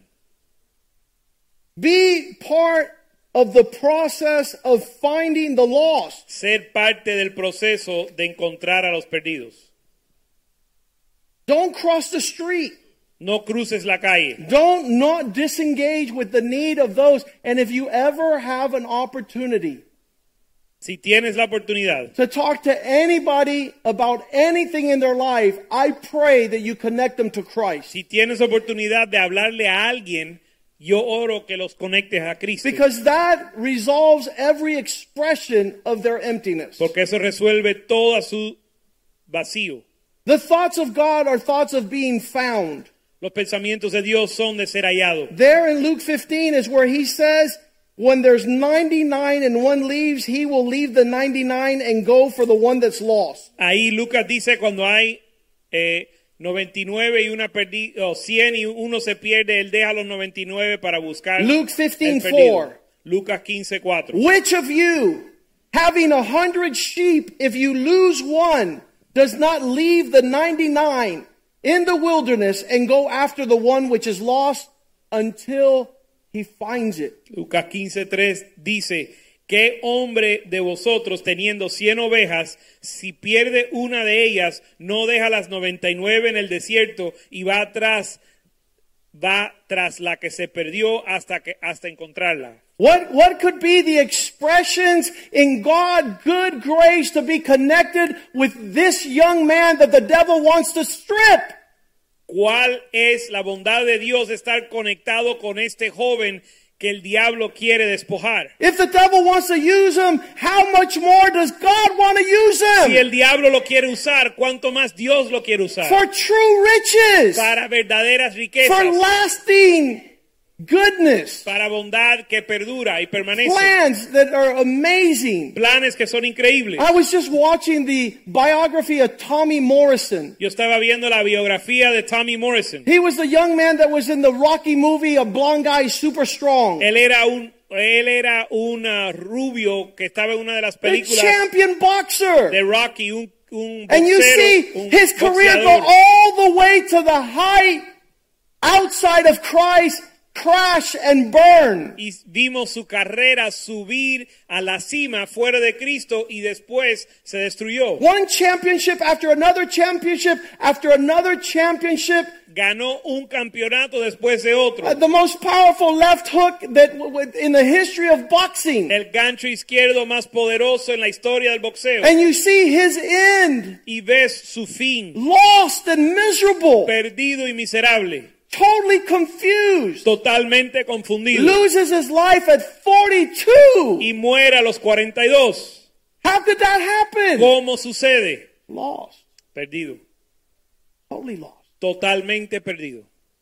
Be part of the process of finding the lost. Ser parte del proceso de encontrar a los perdidos. Don't cross the street. No cruces la calle. Don't not disengage with the need of those. And if you ever have an opportunity Si tienes la oportunidad to talk to anybody about anything in their life, I pray that you connect them to Christ. Si tienes oportunidad de hablarle a alguien, yo oro que los conectes a Cristo. Because that resolves every expression of their emptiness. Porque eso resuelve todo su vacío. The thoughts of God are thoughts of being found. Los pensamientos de Dios son de ser hallado. There in Luke 15 is where he says, when there's 99 and one leaves, he will leave the 99 and go for the one that's lost. Ahí Lucas dice cuando hay 99 y una perdida, o 100 y uno se pierde, él deja los 99 para buscar Luke el 15:4. perdido. Lucas 15:4. Which of you, having 100 sheep, if you lose one, does not leave the 99 in the wilderness and go after the one which is lost until he finds it? Lucas 15:3 dice, ¿qué hombre de vosotros teniendo 100 ovejas, si pierde una de ellas, no deja las 99 en el desierto y va tras la que se perdió hasta encontrarla? What could be the expressions in God, good grace to be connected with this young man that the devil wants to strip? ¿Cuál es la bondad de Dios de estar conectado con este joven que el diablo quiere despojar? If the devil wants to use him, how much more does God want to use him? Si el diablo lo quiere usar, ¿cuánto más Dios lo quiere usar? For true riches, Para verdaderas riquezas, for lasting goodness, para bondad que perdura y permanece, plans that are amazing. planes que son increíbles. I was just watching the biography of Tommy Morrison. Yo estaba viendo la biografía de Tommy Morrison. He was the young man that was in the Rocky movie, A Blonde Guy Super Strong. Él era un rubio que estaba en una de las The películas champion boxer. de Rocky, un And you see boxero, un his career go boxeador. all the way to the height outside of Christ, crash and burn. Y vimos su carrera subir a la cima fuera de Cristo y después se destruyó. One championship after another championship after another championship. Ganó un campeonato después de otro. The most powerful left hook that in the history of boxing. El gancho izquierdo más poderoso en la historia del boxeo. And you see his end. Y ves su fin. Lost and miserable. Perdido y miserable. Totally confused. Totalmente confundido. Loses his life at 42. Y muere a los 42. How could that happen? ¿Cómo sucede? Lost. Perdido. Totally lost. Totalmente perdido.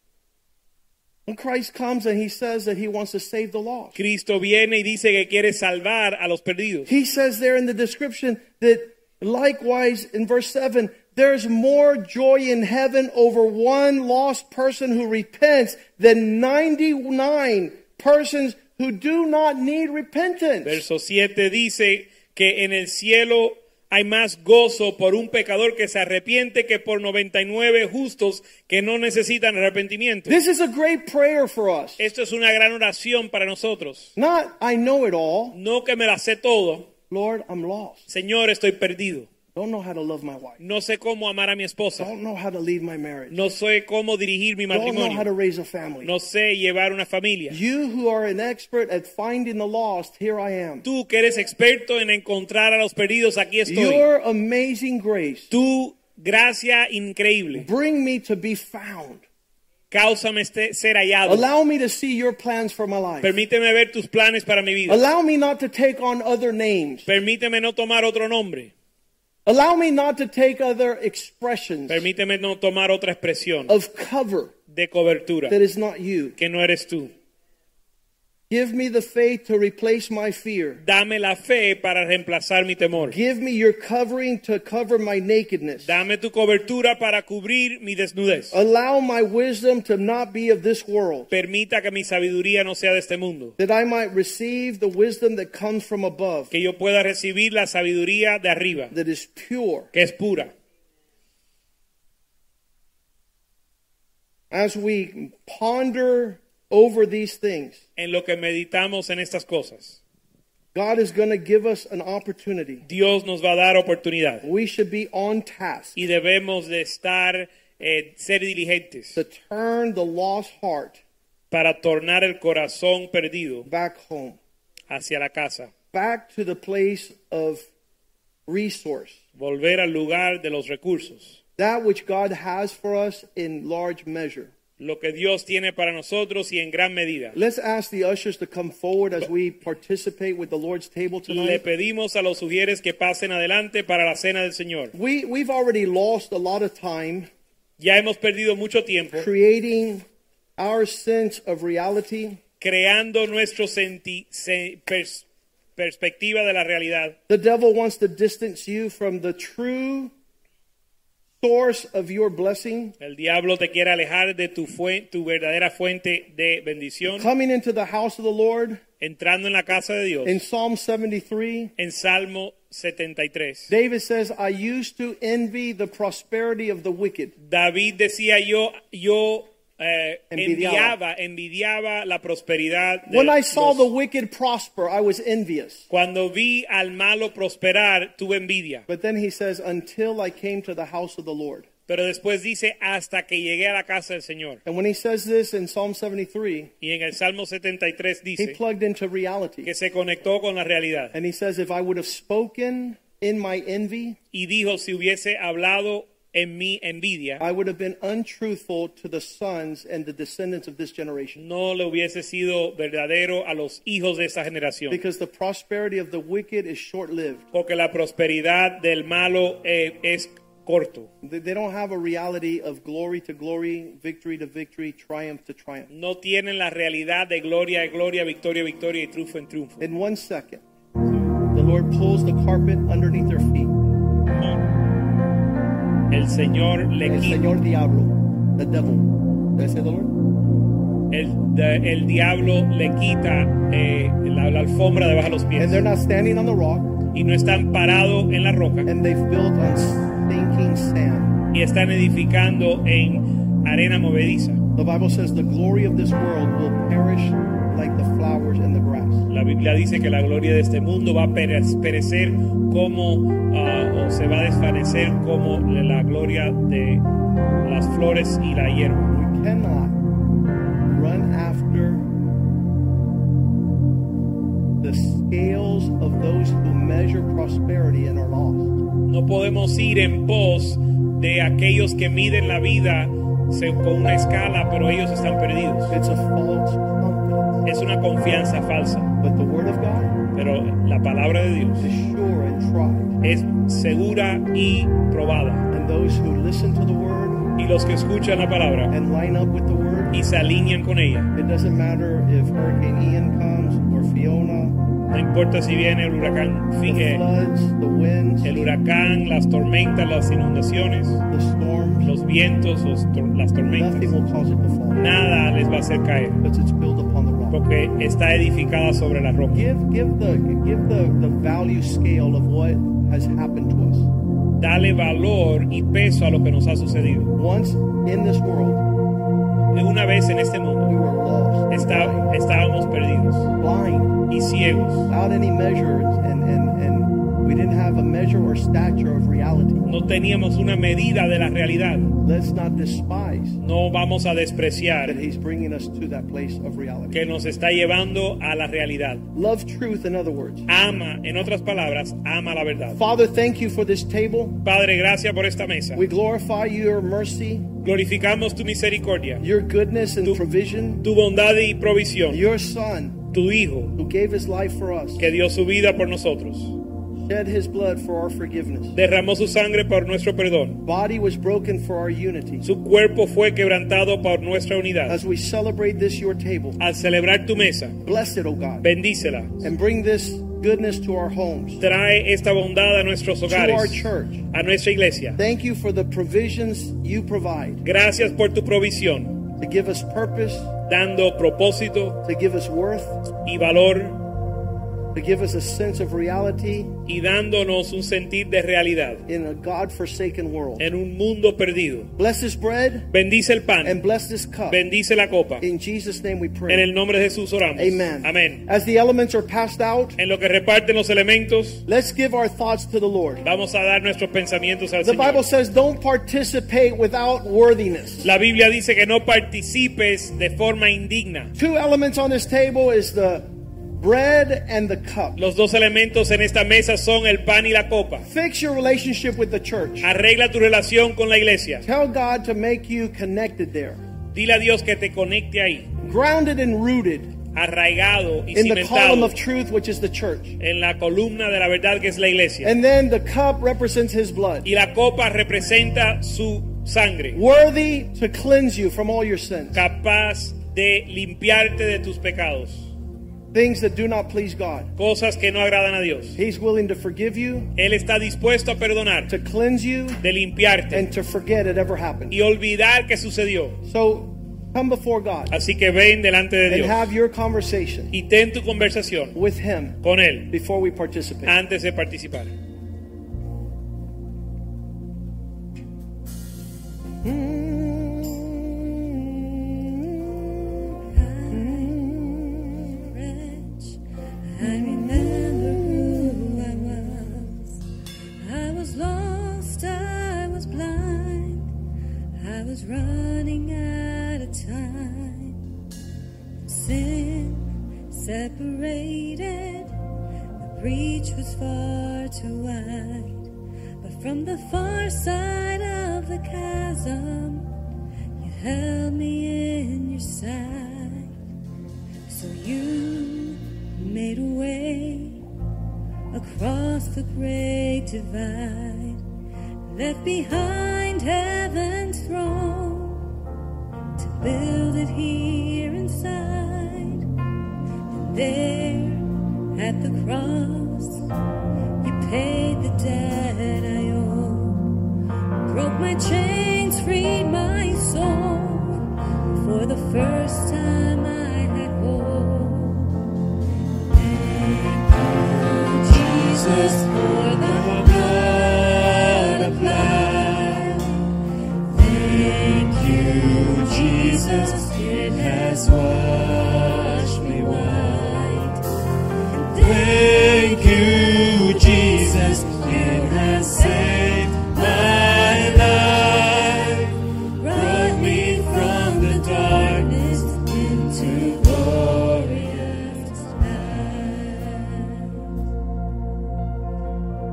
When Christ comes and he says that he wants to save the lost. Cristo viene y dice que quiere salvar a los perdidos. He says there in the description that likewise in verse 7, there's more joy in heaven over one lost person who repents than 99 persons who do not need repentance. Verso 7 dice que en el cielo hay más gozo por un pecador que se arrepiente que por 99 justos que no necesitan arrepentimiento. This is a great prayer for us. Esto es una gran oración para nosotros. Not, I know it all. No que me la sé todo. Lord, I'm lost. Señor, estoy perdido. Don't know how to love my wife. No sé cómo amar a mi esposa. Don't know how to lead my marriage. No sé cómo dirigir mi Don't know how to matrimonio. raise a family. No sé llevar una familia. You who are an expert at finding the lost, here I am. Tú que eres experto en encontrar a los perdidos, aquí estoy. Your amazing grace, Tu gracia increíble. bring me to be found. Cáusame ser hallado. Allow me to see your plans for my life. Permíteme ver tus planes para mi vida. Allow me not to take on other names. Permíteme no tomar otro nombre. Allow me not to take other expressions Permíteme no tomar otra expresión of cover de cobertura that is not you. que no eres tú. Give me the faith to replace my fear. Dame la fe para reemplazar mi temor. Give me your covering to cover my nakedness. Dame tu cobertura para cubrir mi desnudez. Allow my wisdom to not be of this world, Permita que mi sabiduría no sea de este mundo. that I might receive the wisdom that comes from above, Que yo pueda recibir la sabiduría de arriba, that is pure. que es pura. As we ponder over these things, En lo que meditamos en estas cosas, God is going to give us an opportunity. Dios nos va a dar oportunidad. We should be on task Y debemos de estar, ser diligentes to turn the lost heart para tornar el corazón perdido back home, hacia la casa. back to the place of resource, Volver al lugar de los recursos. that which God has for us in large measure. Lo que Dios tiene para nosotros y en gran medida. Let's ask the ushers to come forward as we participate with the Lord's table Le tonight. pedimos a los sugieres que pasen adelante para la cena del Señor. We've already lost a lot of time Ya hemos perdido mucho tiempo creating our sense of reality. creando nuestra perspectiva de la realidad. The devil wants to distance you from the true source of your blessing. El diablo te quiere alejar de tu verdadera fuente de bendición. Coming into the house of the Lord, Entrando en la casa de Dios. in Psalm 73, En Salmo 73. David says, I used to envy the prosperity of the wicked. David decía yo Envidiaba. envidiaba la prosperidad de When I saw los- the wicked prosper, I was envious. Cuando vi al malo prosperar, tuve envidia. But then he says, until I came to the house of the Lord. Pero después dice, hasta que llegué a la casa del Señor. And when he says this in Psalm 73, Y en el Salmo 73 he dice plugged into reality. que se conectó con la realidad. And he says, if I would have spoken in my envy, Y dijo, si hubiese hablado en mi envidia, I would have been untruthful to the sons and the descendants of this generation. no le hubiese sido verdadero a los hijos de esa generación. Because the prosperity of the wicked is short-lived. Porque la prosperidad del malo es corto. They don't have a reality of glory to glory, victory to victory, triumph to triumph. No tienen la realidad de gloria a gloria, victoria a victoria y triunfo en triunfo. In 1 second, the Lord pulls the carpet underneath their feet. El Señor le El quita, Señor Diablo, the devil. Did I say the Lord? el diablo le quita la alfombra debajo de los pies. And they're not standing on the rock, Y no están parados en la roca. and they've built on stinking sand. Y están edificando en arena movediza. The Bible says the glory of this world will perish like the flowers in the grass. La Biblia dice que la gloria de este mundo va a perecer como, o se va a desvanecer como la gloria de las flores y la hierba. We cannot run after the scales of those who measure prosperity and are lost. No podemos ir en pos de aquellos que miden la vida con una escala, pero ellos están perdidos. It's a false confidence. Es una confianza falsa, But the Word of God pero la palabra de Dios is sure and tried. es segura y probada. And those who listen to the Word Y los que escuchan la palabra and line up with the Word, y se alinean con ella, it doesn't matter if Hurricane Ian comes or Fiona, no importa si viene el huracán, the floods, the winds, el huracán, las tormentas, las inundaciones, the storms, los vientos, las tormentas, nothing will cause it to fall. nada les va a hacer caer, Because it's built upon the rock. porque está edificada sobre la roca. Give the value scale of what has happened to us. Dale valor y peso a lo que nos ha sucedido. Once in this world, Una vez en este we mundo were lost, estábamos perdidos blind, y ciegos, without any measure and We didn't have a measure or stature of reality. No teníamos una medida de la realidad. Let's not despise No vamos a despreciar that He's bringing us to that place of reality. que nos está llevando a la realidad. Love truth, in other words. Ama, en otras palabras, ama la verdad. Father, thank you for this table. Padre, gracias por esta mesa. We glorify your mercy, Glorificamos tu misericordia, your goodness and provision, tu bondad y provisión, your Son tu Hijo who gave His life for us, que dio su vida por nosotros, shed His blood for our forgiveness. derramó su sangre por nuestro perdón, Body was broken for our unity. su cuerpo fue quebrantado por nuestra unidad. As we celebrate this, your table, Al celebrar tu mesa, bless it, O God, bendícela, and bring this goodness to our homes, trae esta bondad a nuestros to our hogares, church. a nuestra iglesia. Thank you for the provisions you provide Gracias por tu provisión, to give us purpose, dando propósito to give us worth, y valor to give us a sense of reality y dándonos un sentir de realidad in a God-forsaken world. en un mundo perdido. Bless this bread Bendice el pan, and bless this cup. bendice la copa. In Jesus' name we En pray. el nombre de Jesús oramos. Amen. Amén. As the elements are passed out, En lo que reparten los elementos, let's give our thoughts to the Lord. vamos a dar nuestros pensamientos al The Bible Señor. says, don't participate without worthiness. La Biblia dice que no participes de forma indigna. Two elements on this table is the bread and the cup. Los dos elementos en esta mesa son el pan y la copa. Fix your relationship with the church. Arregla tu relación con la iglesia. Tell God to make you connected there. Dile a Dios que te conecte ahí, Grounded and rooted arraigado y in the column cimentado of truth, which is the church. en la columna de la verdad que es la iglesia. And then the cup represents His blood. Y la copa representa su sangre, Worthy to cleanse you from all your sins. capaz de limpiarte de tus pecados, Things that do not please God. cosas que no agradan a Dios. He's willing to forgive you, Él está dispuesto a perdonar, to cleanse you, de limpiarte and to forget it ever happened. y olvidar que sucedió. So come before God Así que ven delante de and Dios have your conversation y ten tu conversación with Him con Él before we participate. antes de participar. I remember who I was lost, I was blind, I was running out of time. Sin separated, the breach was far too wide. But from the far side of the chasm, you held me in your sight. So you made a way across the great divide, left behind heaven's throne to build it here inside. And there at the cross, you paid the debt I owe, broke my chains, freed my soul. For the first time I had hope. Jesus, for the blood applied. Thank you, Jesus, it has washed me white. Thank you, Jesus, it has saved my life. Brought me from the darkness into glorious light.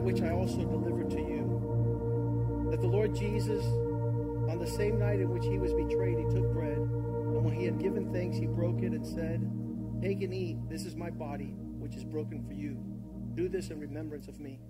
which I also delivered to you, that the Lord Jesus, on the same night in which he was betrayed, he took bread, and when he had given thanks, he broke it and said, "Take and eat, this is my body, which is broken for you. Do this in remembrance of me."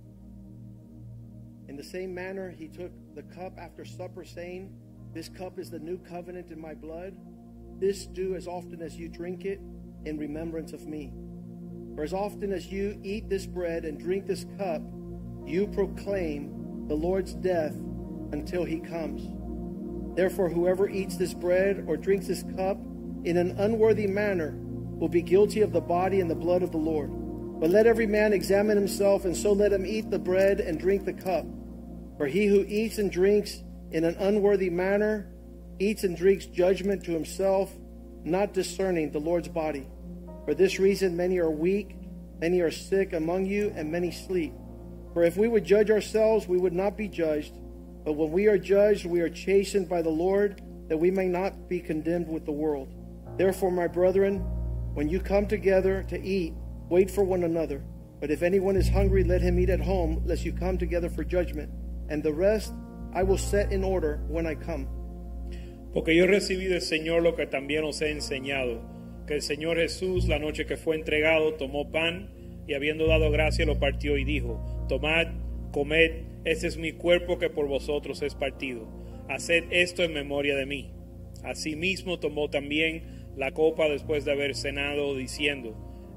In the same manner, he took the cup after supper, saying, "This cup is the new covenant in my blood. This do as often as you drink it in remembrance of me. For as often as you eat this bread and drink this cup, you proclaim the Lord's death until he comes. Therefore, whoever eats this bread or drinks this cup in an unworthy manner will be guilty of the body and the blood of the Lord. But let every man examine himself, and so let him eat the bread and drink the cup. For he who eats and drinks in an unworthy manner eats and drinks judgment to himself, not discerning the Lord's body. For this reason many are weak, many are sick among you, and many sleep. For if we would judge ourselves, we would not be judged. But when we are judged, we are chastened by the Lord, that we may not be condemned with the world. Therefore, my brethren, when you come together to eat, wait for one another. But if anyone is hungry, let him eat at home, lest you come together for judgment. And the rest I will set in order when I come. Porque yo recibí del Señor lo que también os he enseñado, que el Señor Jesús, la noche que fue entregado, tomó pan y habiendo dado gracia lo partió y dijo: Tomad, comed, este es mi cuerpo que por vosotros es partido. Haced esto en memoria de mí. Asimismo tomó también la copa después de haber cenado, diciendo: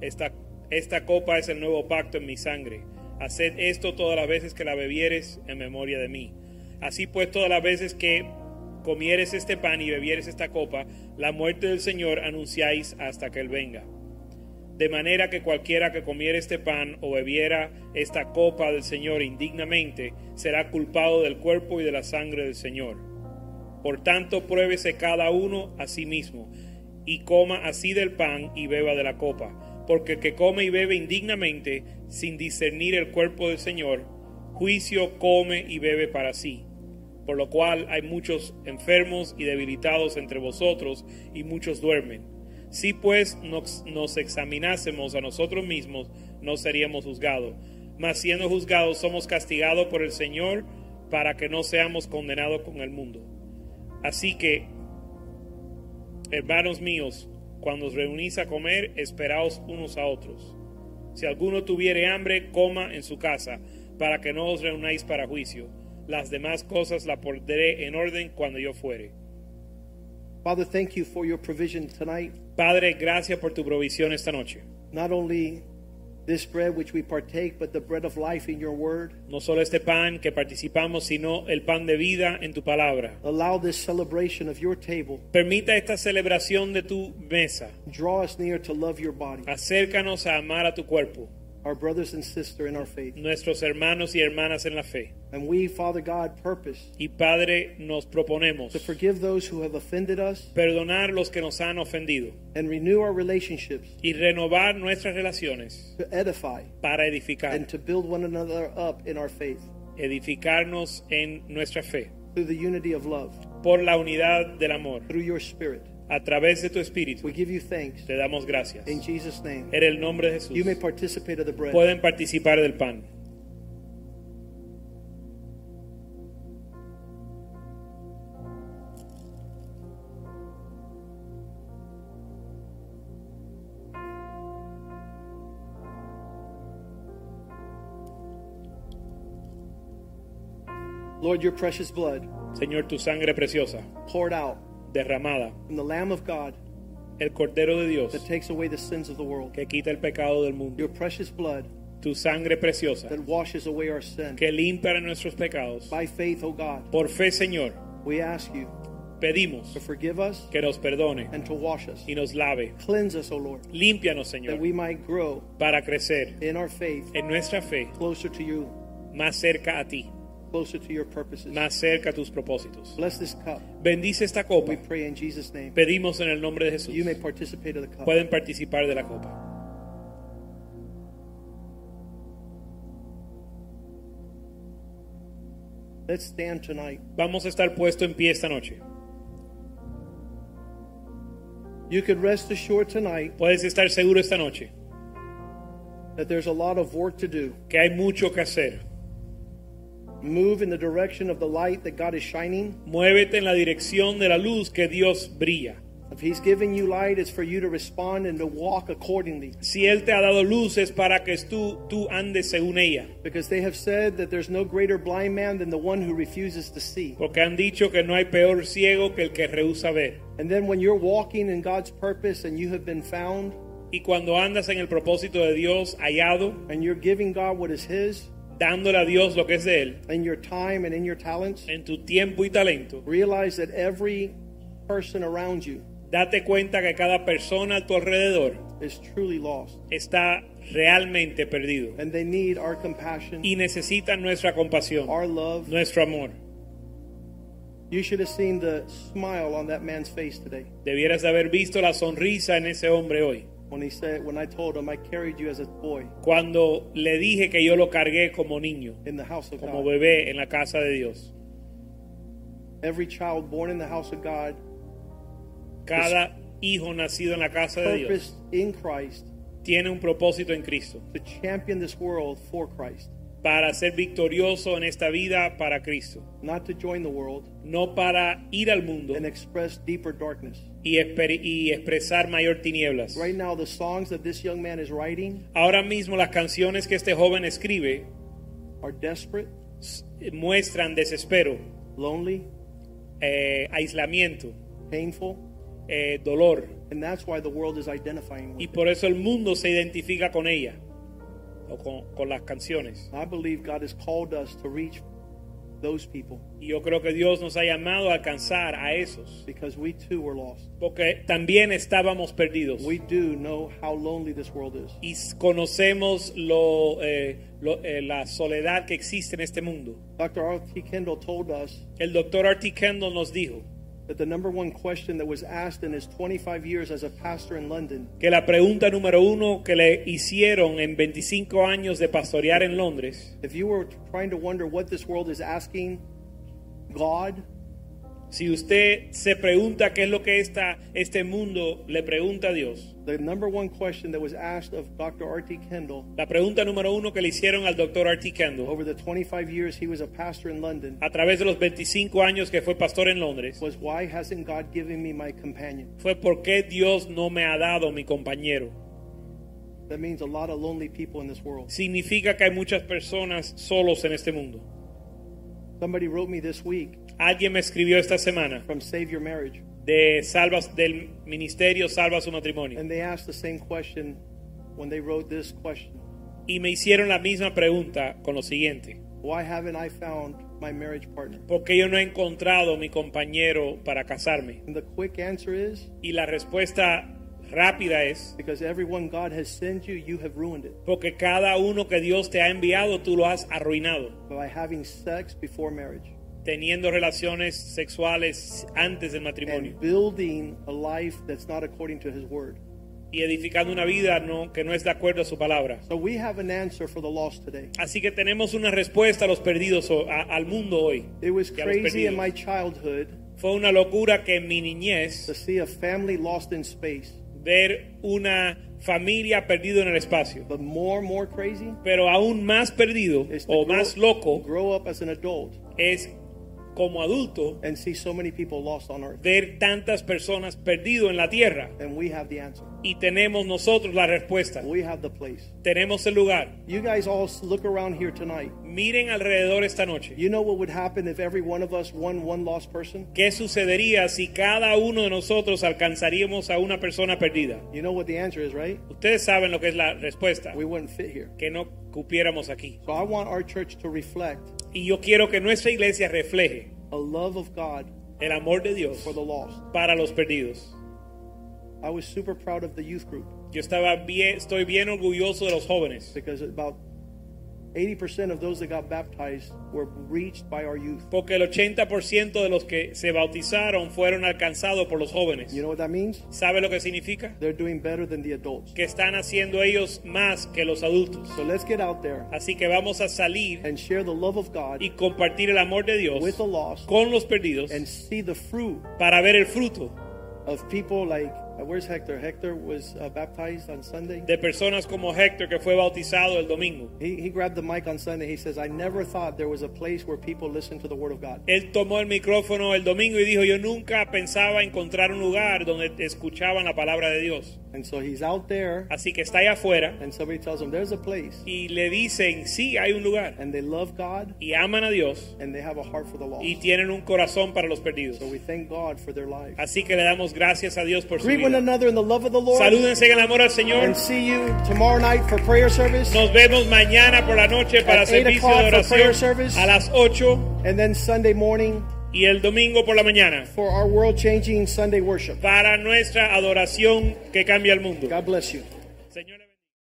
Esta copa es el nuevo pacto en mi sangre. Haced esto todas las veces que la bebieres en memoria de mí. Así pues, todas las veces que comieres este pan y bebieres esta copa, la muerte del Señor anunciáis hasta que Él venga. De manera que cualquiera que comiera este pan o bebiera esta copa del Señor indignamente, será culpado del cuerpo y de la sangre del Señor. Por tanto, pruébese cada uno a sí mismo, y coma así del pan y beba de la copa. Porque el que come y bebe indignamente, sin discernir el cuerpo del Señor, juicio come y bebe para sí. Por lo cual hay muchos enfermos y debilitados entre vosotros, y muchos duermen. Si pues nos examinásemos a nosotros mismos, no seríamos juzgados. Mas siendo juzgados, somos castigados por el Señor, para que no seamos condenados con el mundo. Así que, hermanos míos, cuando os reunís a comer, esperaos unos a otros. Si alguno tuviere hambre, coma en su casa, para que no os reunáis para juicio. Las demás cosas las pondré en orden cuando yo fuere. Father, thank you for your provision tonight. Padre, gracias por tu provisión esta noche. Not only this bread which we partake, but the bread of life in your word. No solo este pan que participamos, sino el pan de vida en tu palabra. Allow this celebration of your table. Permita esta celebración de tu mesa. Draw us near to love your body. Acércanos a amar a tu cuerpo. Our brothers and sisters in our faith. Nuestros hermanos y hermanas en la fe. And we, Father God, purpose Y Padre, nos proponemos to forgive those who have offended us perdonar los que nos han ofendido and renew our relationships, y renovar nuestras relaciones to edify para edificar, and to build one another up in our faith edificarnos en nuestra fe through the unity of love, por la unidad del amor. through your Spirit. A través de tu Espíritu We give you thanks. te damos gracias. In Jesus' name. En el nombre de Jesús You may participate of the bread. pueden participar del pan. Lord, your precious blood Señor, tu sangre preciosa, poured out derramada, from the Lamb of God el Cordero de Dios that takes away the sins of the world. que quita el pecado del mundo, Your precious blood tu sangre preciosa that washes away our sin. que limpia nuestros pecados. By faith, O God, Por fe, Señor, we ask you pedimos to forgive us que nos perdone and to wash us. y nos lave. Cleanse us, O Lord, Límpianos, that Señor, we might grow para crecer in our faith en nuestra fe closer to you, más cerca a ti, closer to your purposes. más cerca a tus propósitos. Bless this cup. Bendice esta copa. We pray in Jesus' name. Pedimos en el nombre de Jesús. You may participate of the cup. Pueden participar de la copa. Let's stand tonight. Vamos a estar puesto en pie esta noche. You could rest assured tonight Puedes estar seguro esta noche that there's a lot of work to do. que hay mucho que hacer. Move in the direction of the light that God is shining. Muévete en la dirección de la luz que Dios brilla. If He's giving you light, it's for you to respond and to walk accordingly. Si Él te ha dado luz es para que tú andes según ella. Because they have said that there's no greater blind man than the one who refuses to see. Porque han dicho que no hay peor ciego que el que rehúsa ver. And then when you're walking in God's purpose and you have been found, Y cuando andas en el propósito de Dios hallado, and you're giving God what is His, dándole a Dios lo que es de Él, in your time and in your talents, en tu tiempo y talento, realize that every person around you date cuenta que cada persona a tu alrededor is truly lost. está realmente perdido And they need our compassion, y necesitan nuestra compasión, our love. nuestro amor. You should have seen the smile on that man's face today Debieras de haber visto la sonrisa en ese hombre hoy, when I told him I carried you as a boy cuando le dije que yo lo cargué como niño, in the house of como God. bebé en la casa de Dios. Every child born in the house of God, Cada hijo nacido en la casa de Dios purposed in Christ tiene un propósito en Cristo to champion this world for Christ, para ser victorioso en esta vida para Cristo, not to join the world no para ir al mundo and express deeper darkness. y expresar mayor tinieblas. Right now, the songs that this young man is writing Ahora mismo las canciones que este joven escribe are desperate, muestran desespero, lonely, aislamiento, painful, dolor, and that's why the world is identifying y with por eso el mundo se identifica con ella o con las canciones. it. I believe God has called us to reach those people Y yo creo que Dios nos ha llamado a alcanzar a esos, because we too were lost. porque también estábamos perdidos We do know how lonely this world is. y conocemos la soledad que existe en este mundo. Dr. R.T. Kendall told us El doctor R.T. Kendall nos dijo that the number one question that was asked in his 25 years as a pastor in London que la pregunta número uno que le hicieron en 25 años de pastorear en Londres, if you were trying to wonder what this world is asking God, si usted se pregunta qué es lo que este mundo le pregunta a Dios, the number one question that was asked of Dr. R.T. Kendall la pregunta número uno que le hicieron al doctor R.T. Kendall over the 25 years he was a pastor in London a través de los 25 años que fue pastor en Londres was, why hasn't God given me my companion? fue ¿por qué Dios no me ha dado mi compañero? That means a lot of lonely people in this world. Significa que hay muchas personas solos en este mundo. Somebody wrote me this week Alguien me escribió esta semana from Save Your Marriage, del ministerio Salva su Matrimonio and they asked the same question when they wrote this question. y me hicieron la misma pregunta con lo siguiente: Why haven't I found my marriage partner? ¿por qué yo no he encontrado mi compañero para casarme? And the quick answer is Y la respuesta rápida es because everyone God has sent you, you have ruined it porque cada uno que Dios te ha enviado tú lo has arruinado, by having sex before marriage teniendo relaciones sexuales antes del matrimonio and building a life that's not according to His word. y edificando una vida que no es de acuerdo a su palabra. So we have an answer for the lost today. Así que tenemos una respuesta a los perdidos, al mundo hoy. It was Y a los crazy in perdidos. my childhood Fue una locura que en mi niñez to see a family lost in space, ver una familia perdida en el espacio, but more crazy pero aún más perdido is to o más loco grow up as an adult es como adulto and see so many people lost on earth. ver tantas personas perdidas en la tierra. And we have the answer. Y tenemos nosotros la respuesta, We have the place. tenemos el lugar. You guys all look around here tonight. Miren alrededor esta noche. You know what would happen if every one of us won one lost person? ¿Qué sucedería si cada uno de nosotros alcanzaríamos a una persona perdida? You know what the answer is, right? Ustedes saben lo que es la respuesta, We wouldn't fit here. que no cupiéramos aquí. So I want our church to reflect Y yo quiero que nuestra iglesia refleje a love of God el amor de Dios for the lost. para los perdidos. I was super proud of the youth group Yo estoy bien orgulloso de los jóvenes, because about 80% of those that got baptized were reached by our youth. porque el 80% de los que se bautizaron fueron alcanzados por los jóvenes. You know what that means? ¿Sabe lo que significa? They're doing better than the adults. Que están haciendo ellos más que los adultos. So let's get out there Así que vamos a salir and share the love of God y compartir el amor de Dios with the lost con los perdidos and see the fruit para ver el fruto of people like Where's Hector? Hector was baptized on Sunday. De personas como Héctor, que fue bautizado el domingo. He grabbed the mic on Sunday. He says, I never thought there was a place where people listen to the Word of God. Él tomó el micrófono el domingo y dijo, yo nunca pensaba encontrar un lugar donde escuchaban la palabra de Dios. And so he's out there, Así que está allá afuera and somebody tells him, there's a place. y le dicen, sí, hay un lugar. And they love God, Y aman a Dios and they have a heart for the lost. y tienen un corazón para los perdidos. So we thank God for their lives. Así que le damos gracias a Dios por su Greet one vida. another in the love of the Lord. Salúdense en el amor al Señor. And see you tomorrow night for prayer service. Nos vemos mañana por la noche para At 8 servicio o'clock de for prayer oración service. a las 8 And then Sunday morning y el domingo por la mañana for our world-changing Sunday worship. para nuestra adoración que cambia el mundo. God bless you. Señor,